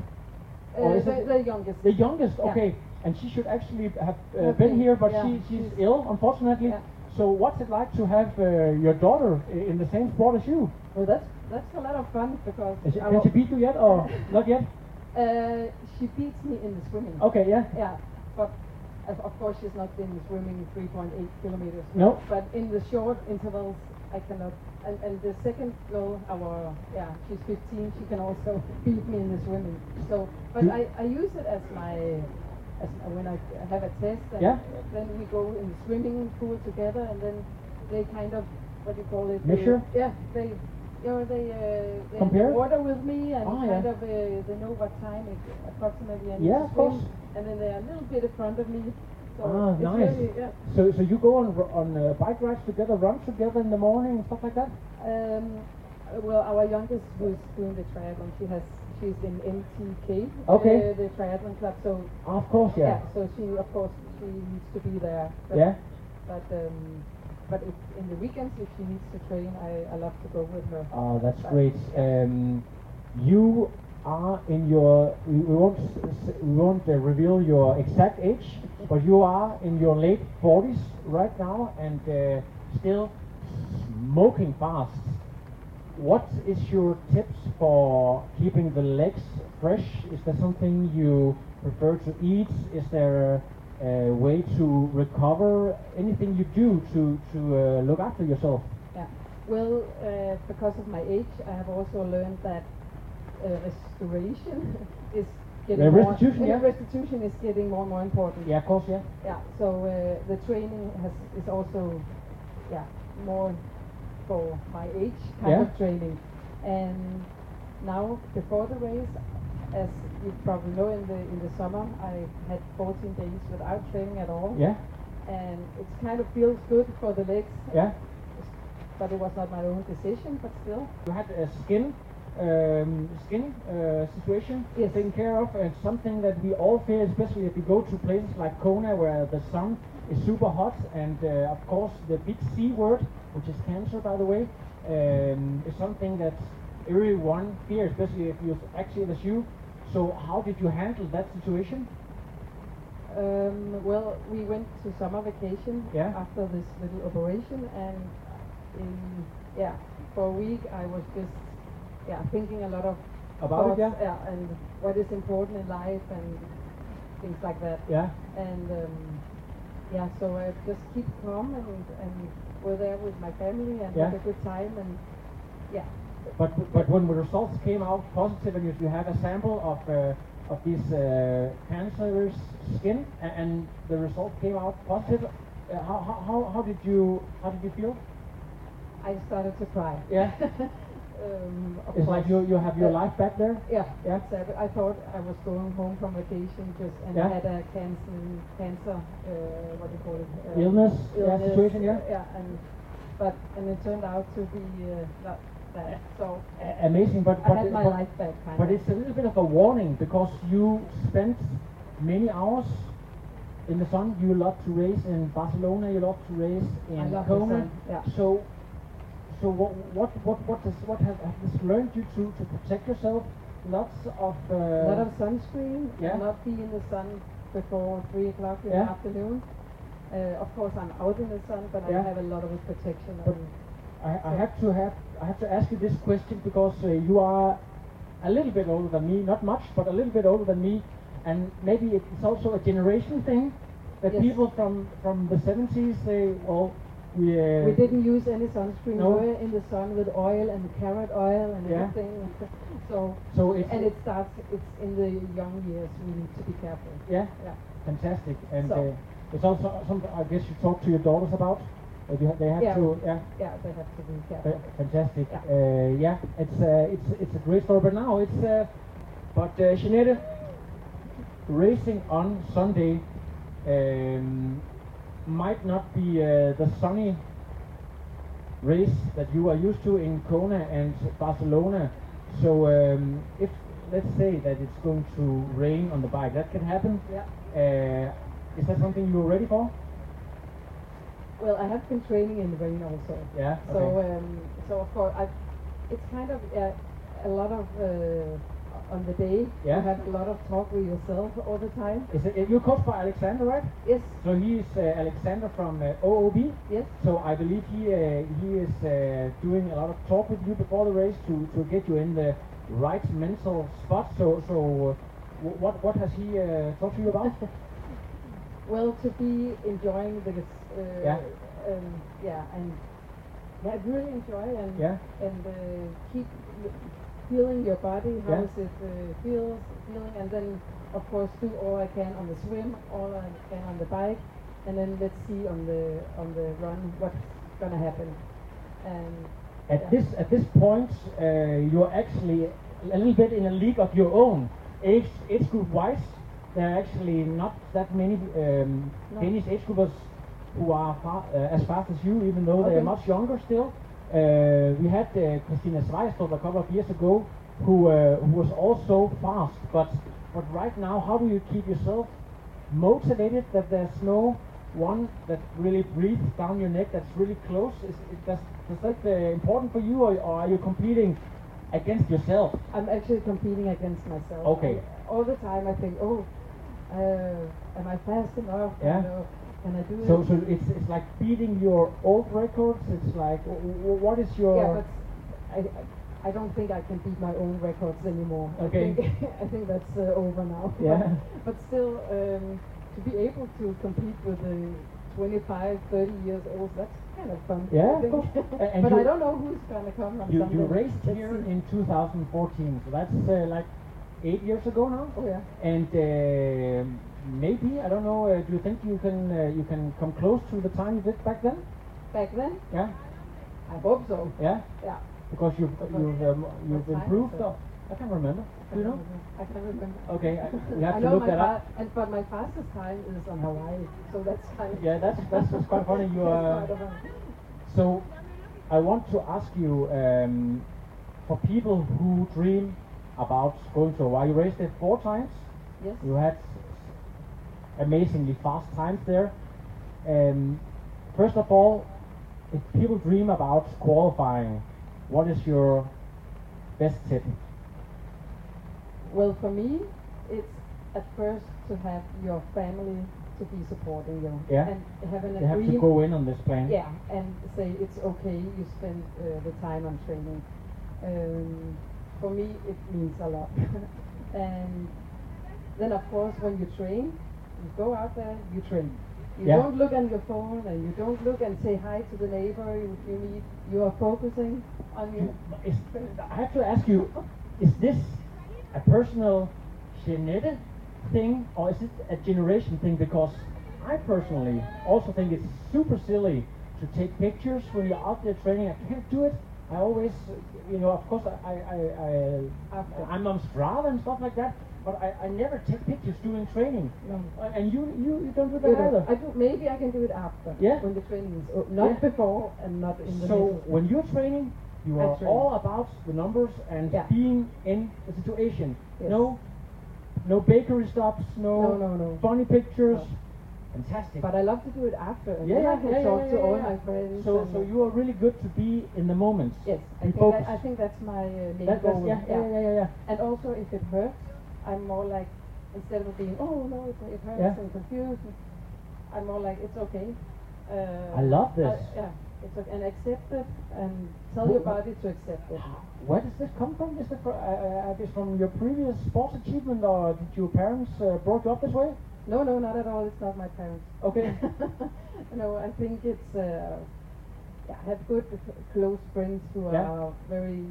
The youngest. The youngest, okay. Yeah. And she should actually have been here, but she's ill, unfortunately. Yeah. So what's it like to have your daughter in the same sport as you? Well, that's a lot of fun because... Can she beat you yet, or not yet? She beats me in the swimming. Okay, yeah. Yeah, but of course she's not been swimming 3.8 kilometers. No. But in the short intervals, I cannot. And the second girl, she's 15. She can also beat me in the swimming. So, but I use it as when I have a test. And then we go in the swimming pool together, and then they kind of, what do you call it? Measure. They compare water with me, and they know what time approximately I need to swim. And then they're a little bit in front of me. So nice. Really, so you go on bike rides together, run together in the morning and stuff like that? Well, our youngest who's doing the triathlon, she's in MTK, the triathlon club. So of course, so she needs to be there. But, but in the weekends, if she needs to train, I love to go with her. Oh, that's great. You are in your, we won't reveal your exact age, but you are in your late 40s right now and still smoking fast. What is your tips for keeping the legs fresh? Is there something you prefer to eat? Is there a way to recover? Anything you do to look after yourself? Yeah. Well, because of my age, I have also learned that restoration is getting restitution is getting more and more important. Yeah, of course, yeah. Yeah. So the training is also more for my age kind of training. And now before the race, as you probably know, in the summer I had 14 days without training at all. Yeah. And it kind of feels good for the legs. Yeah. but it was not my own decision, but still. You had a skin situation taken care of, and something that we all fear, especially if we go to places like Kona where the sun is super hot, and of course the big C word, which is cancer, by the way, is something that everyone fears, especially if you're active as you. So how did you handle that situation? Well, we went to summer vacation after this little operation, and for a week I was just thinking a lot of about thoughts, and what is important in life and things like that. And so I just keep calm and were there with my family and had a good time, and But when the results came out positive, and you have a sample of this cancerous skin, and the result came out positive, how did you feel? I started to cry. Yeah. It's like you have your life back there. Yeah. I thought I was going home from vacation and I had a cancer. What do you call it? Illness situation. And it turned out to be not that. So amazing, but I had my life back. But it's a little bit of a warning, because you spent many hours in the sun. You love to race in Barcelona. You love to race in Kona. So what have this learned you to protect yourself? Lots of a lot of sunscreen, and not be in the sun before 3 o'clock in the afternoon. Of course, I'm out in the sun, but I have a lot of protection. I have to ask you this question, because you are a little bit older than me, not much, but a little bit older than me, and maybe it's also a generation thing that people from the 70s say, well, we didn't use any sunscreen. We were in the sun with oil and carrot oil and everything. It's in the young years we need to be careful. Yeah. Fantastic. And it's also something I guess you talk to your daughters about. They have to. Yeah, they have to be careful. Fantastic. It's a great story. But now but Jeanette, racing on Sunday might not be the sunny race that you are used to in Kona and Barcelona. So if let's say that it's going to rain on the bike, that can happen. Is that something you're ready for? Well, I have been training in the rain also. Yeah. Okay. So of course it's kind of a lot of on the day. You have a lot of talk with yourself all the time. You're coached by Alexander, right? Yes. So he is Alexander from OOB. Yes. So I believe he is doing a lot of talk with you before the race to get you in the right mental spot. So what has he talked to you about? Well, to be enjoying the and really enjoy and keep feeling your body, how is it feeling, and then of course do all I can on the swim, all I can on the bike, and then let's see on the run what's gonna happen. And at this point, you're actually a little bit in a league of your own, age group wise. There are actually not that many Danish age groupers who are as fast as you, even though they're much younger still. We had Christina Svejstrup a couple of years ago, who was also fast. But right now, how do you keep yourself motivated? That there's no one that really breathes down your neck, that's really close. Is that important for you, or are you competing against yourself? I'm actually competing against myself. Okay. All the time I think, am I fast enough? Yeah. Can I do it? So it's like beating your old records. It's like, what is your? Yeah, but I don't think I can beat my own records anymore. Okay. I think that's over now. Yeah. But still, to be able to compete with the 25, 30 years old, that's kind of fun. Yeah, I think. But I don't know who's gonna come on Sunday. You raced here in 2014, so that's like 8 years ago now. Oh yeah. And maybe, I don't know. Do you think you can come close to the time you did back then? Back then? Yeah. I hope so. Yeah. Yeah. Because you've improved. I can't remember. Do you know? I can't remember. Okay, you have to look that up. But my fastest time is on Hawaii, so that's kind of. Yeah, that's quite funny. You are. So, I want to ask you, for people who dream about going to Hawaii, you raced it 4 times. Yes. You had amazingly fast times there. First of all, if people dream about qualifying, what is your best tip? Well, for me, it's at first to have your family to be supporting you. Yeah. And have an You have to go in on this plan. Yeah, and say it's okay, you spend the time on training. For me, it means a lot. And then, of course, when you train, you go out there, you train. You don't look on your phone, and you don't look and say hi to the neighbor you meet. You are focusing on your... I have to ask you, is this a personal genetic thing, or is it a generation thing? Because I personally also think it's super silly to take pictures when you're out there training. I can't do it. I always, of course, I'm on Strava and stuff like that, but I never take pictures during training. No. And you don't do that either. I do. Maybe I can do it after. When the training is not before and not in the middle. So when you're training, you are all about the numbers and being in the situation. Yes. No bakery stops, no funny pictures. No. Fantastic. But I love to do it after. And Yeah, then I yeah, can yeah, talk yeah, to yeah, all yeah. my friends. So you are really good to be in the moment. Yes, I think that's my main goal. Yeah. And also, if it hurts, I'm more like, instead of being, oh no, it hurts and confused, I'm more like, it's okay. I love this. It's okay. And accept it, and tell your body to accept it. Where does this come from? Is it from your previous sports achievement, or did your parents brought you up this way? No, not at all. It's not my parents. Okay. No, I think it's I have good close friends who are very,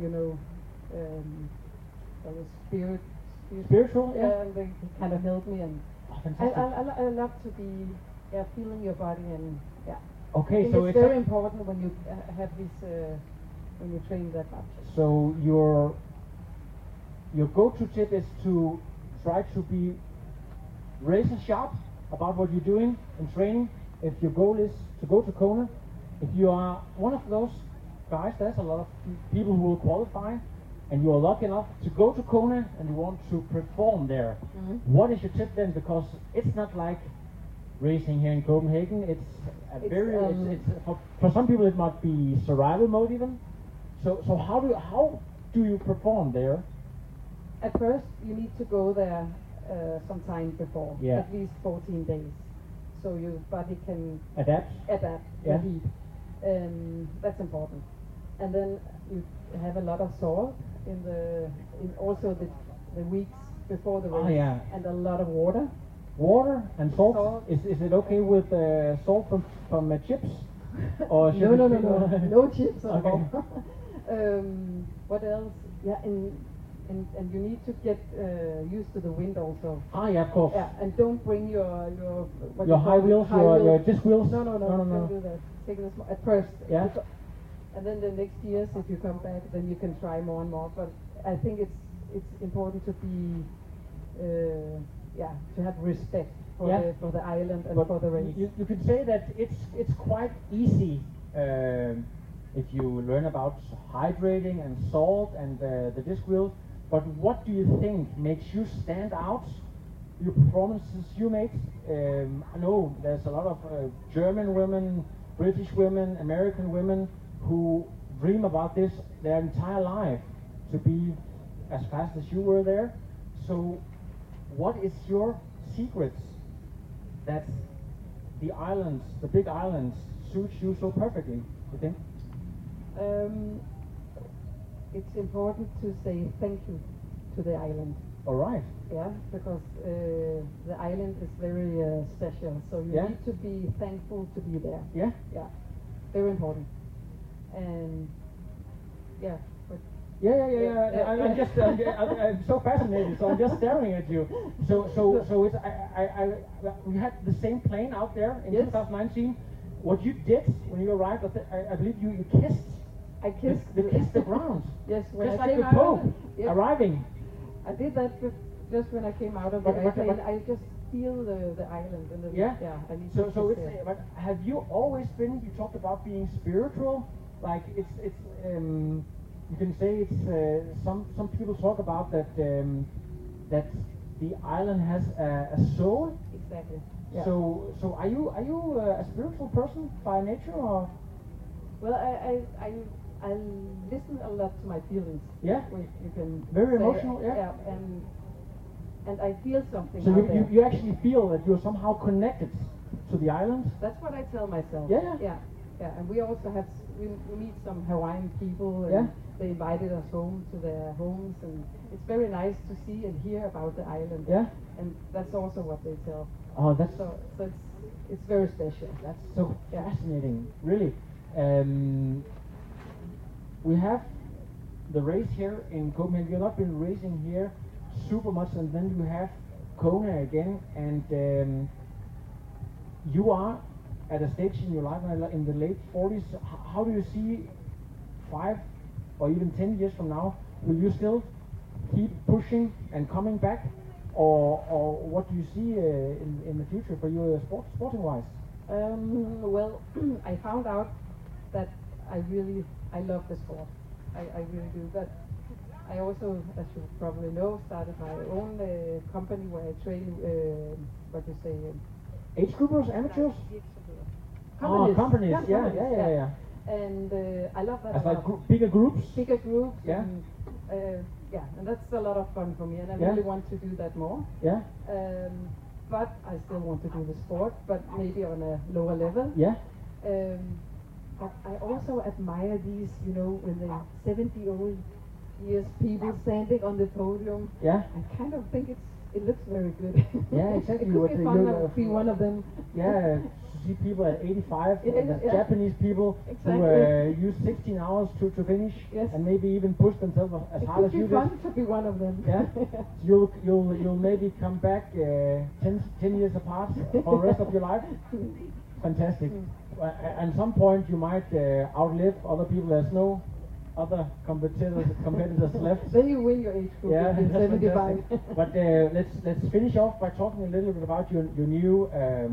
spiritual. Yeah, and they kind of help me, and fantastic. I love to be feeling your body, and Okay, I think so it's very important when you have this when you train that much. So your go-to tip is to try to be razor sharp about what you're doing in training. If your goal is to go to Kona, if you are one of those guys, there's a lot of people who will qualify, and you are lucky enough to go to Kona and you want to perform there. What is your tip then? Because it's not like racing here in Copenhagen. It's for some people it might be survival mode even. So how do you perform there? At first, you need to go there some time before, at least 14 days, so your body can adapt the heat. That's important. And then you have a lot of salt in also the weeks before the race, and a lot of water. Water and salt. Is it okay with salt from chips? Or no chips. Okay. What else? Yeah, and you need to get used to the wind also. Yeah, of course. Yeah, and don't bring your high wheels, your disc wheels. No, don't do that. Take it at first. Yeah. And then the next years, if you come back, then you can try more and more. But I think it's important to be to have respect for the island and for the race. You could say that it's quite easy if you learn about hydrating and salt and the disc wheels. But what do you think makes you stand out? Your performances you make. I know there's a lot of German women, British women, American women who dream about this their entire life, to be as fast as you were there. So what is your secrets that the islands, the big islands, suit you so perfectly, you think? It's important to say thank you to the island. All right. Yeah, because the island is very special, so you need to be thankful to be there. Yeah? Yeah, very important. And I'm so fascinated. So I'm just staring at you. So it's we had the same plane out there in 2019. What you did when you arrived, I believe you kissed. I kissed. Kissed the ground. Yes, when just I like came the Pope arriving. I did that just when I came out of the airplane. I just feel the island and I need so it's. But have you always been? You talked about being spiritual. Like it's you can say it's some people talk about that that the island has a soul. Exactly. Yeah. So are you a spiritual person by nature or? Well, I listen a lot to my feelings. Yeah. You can very say, emotional. Yeah. Yeah, and I feel something. So out you actually feel that you're somehow connected to the island. That's what I tell myself. Yeah. Yeah, and we also have we meet some Hawaiian people, and they invited us home to their homes, and it's very nice to see and hear about the island. Yeah, and that's also what they tell. Oh, that's so it's very special. That's so fascinating, really. We have the race here in Copenhagen. You've not been racing here super much, and then you have Kona again, and you are at a stage in your life in the late 40s. How do you see 5 or even 10 years from now? Will you still keep pushing and coming back, or what do you see in the future for you sporting wise? Well, I found out that I love the sport. I really do. But I also, as you probably know, started my own company where I train. What do you say? Age groupers, amateurs? Companies. Yeah. And I love that. As like bigger groups? Bigger groups. Yeah. And that's a lot of fun for me, and I really want to do that more. Yeah. But I still want to do the sport, but maybe on a lower level. Yeah. But I also admire these, when they 70-old years people standing on the podium. Yeah. I kind of think it looks very good. Yeah, exactly. It could be fun to be one of them. Yeah, to see people at 85, Japanese people exactly. who use 16 hours to finish, and maybe even push themselves as hard as you did. It could be fun to be one of them. Yeah, you'll maybe come back 10 years apart for the rest of your life. Fantastic. At some point you might outlive other people. There's no other competitors left. Then you win your age group. Yeah, in 75. But let's finish off by talking a little bit about your new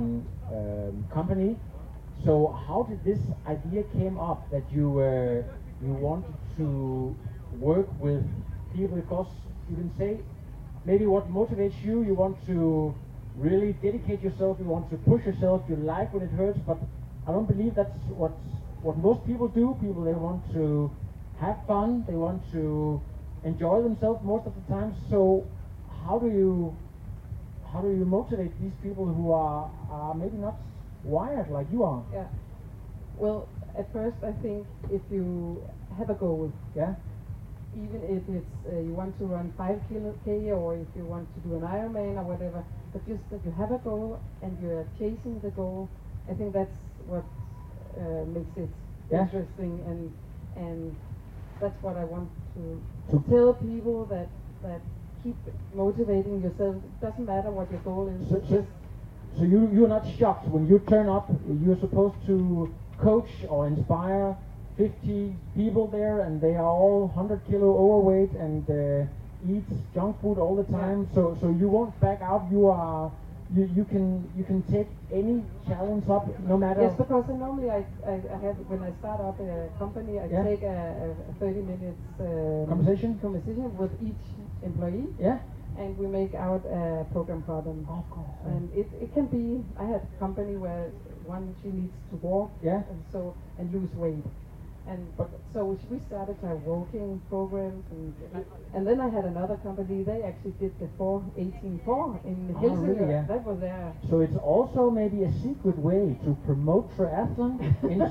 company. So how did this idea came up that you wanted to work with people? Because you can say maybe what motivates you. You want to really dedicate yourself. You want to push yourself. You like when it hurts, but I don't believe that's what most people do. People, they want to have fun, they want to enjoy themselves most of the time. So how do you motivate these people who are maybe not wired like you are? Yeah. Well, at first I think if you have a goal, even if it's you want to run 5K or if you want to do an Ironman or whatever, but just that you have a goal and you're chasing the goal, I think that's what makes it interesting, and that's what I want to tell people, that keep motivating yourself. It doesn't matter what your goal is. So you're not shocked when you turn up. You're supposed to coach or inspire 50 people there, and they are all 100 kilo overweight and eat junk food all the time. So you won't back out. You can take any challenge up, no matter. Yes, because normally I have, when I start up a company, I take a 30 minutes conversation with each employee. Yeah. And we make out a program for them. Of course. And it can be. I had a company where she needs to walk. Yeah. And lose weight. So we started our walking programs, and then I had another company. They actually did the 4-18-4 in Helsinki. Really, yeah. That was there. So it's also maybe a secret way to promote triathlon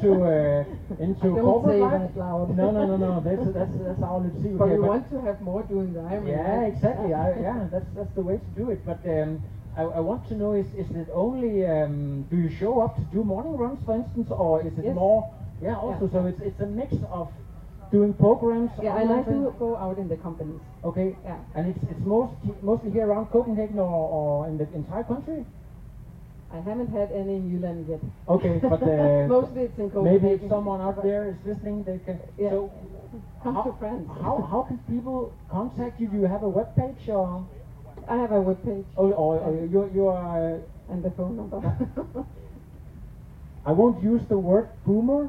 into corporate life. No. That's our little secret. But we want to have more doing the Ironman. Yeah, exactly. That's the way to do it. But I want to know: is it only do you show up to do morning runs, for instance, or is it more? Yeah, also, so it's a mix of doing programs. Yeah, and I do go out in the companies. Okay. Yeah. And it's mostly here around Copenhagen or in the entire country? I haven't had any in Jylland yet. Okay, but mostly it's in Copenhagen. Maybe if someone out there is listening, they can. Yeah. So come to France. How can people contact you? Do you have a web page or? I have a web page. Or you are. And the phone number. I won't use the word boomer,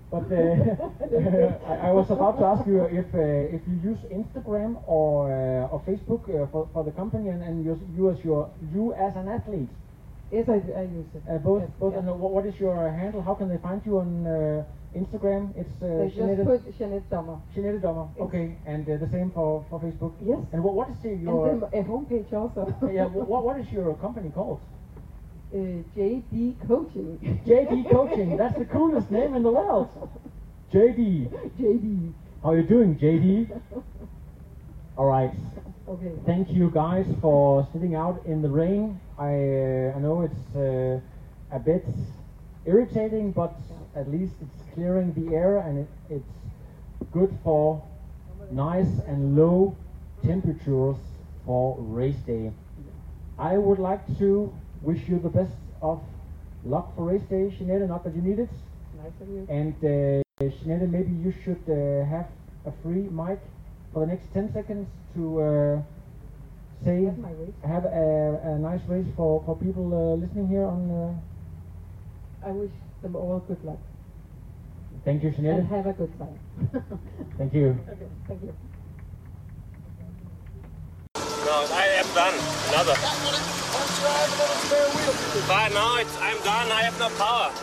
But I was about to ask you if you use Instagram or Facebook for the company and you as an athlete. Yes, I use it. Both. Yes, Both. yeah. And what is your handle? How can they find you on Instagram? It's They just put Jeanette Dommer. Jeanette Dommer. Okay, and the same for Facebook. Yes. And what is your and a homepage also. yeah? What is your company called? JD Coaching. JD Coaching. That's the coolest name in the world. JD. JD. How are you doing, JD? All right. Okay. Thank you guys for sitting out in the rain. I know it's a bit irritating, but at least it's clearing the air and it's good for nice and low temperatures for race day. I would like to wish you the best of luck for race day, Jeanette, not that you need it. Nice of you. And Jeanette, maybe you should have a free mic for the next 10 seconds to say, have a nice race for people listening here on... I wish them all good luck. Thank you, Jeanette. And have a good time. Thank you. Okay, thank you. No, I am done. Another. But now I'm done. I have no power.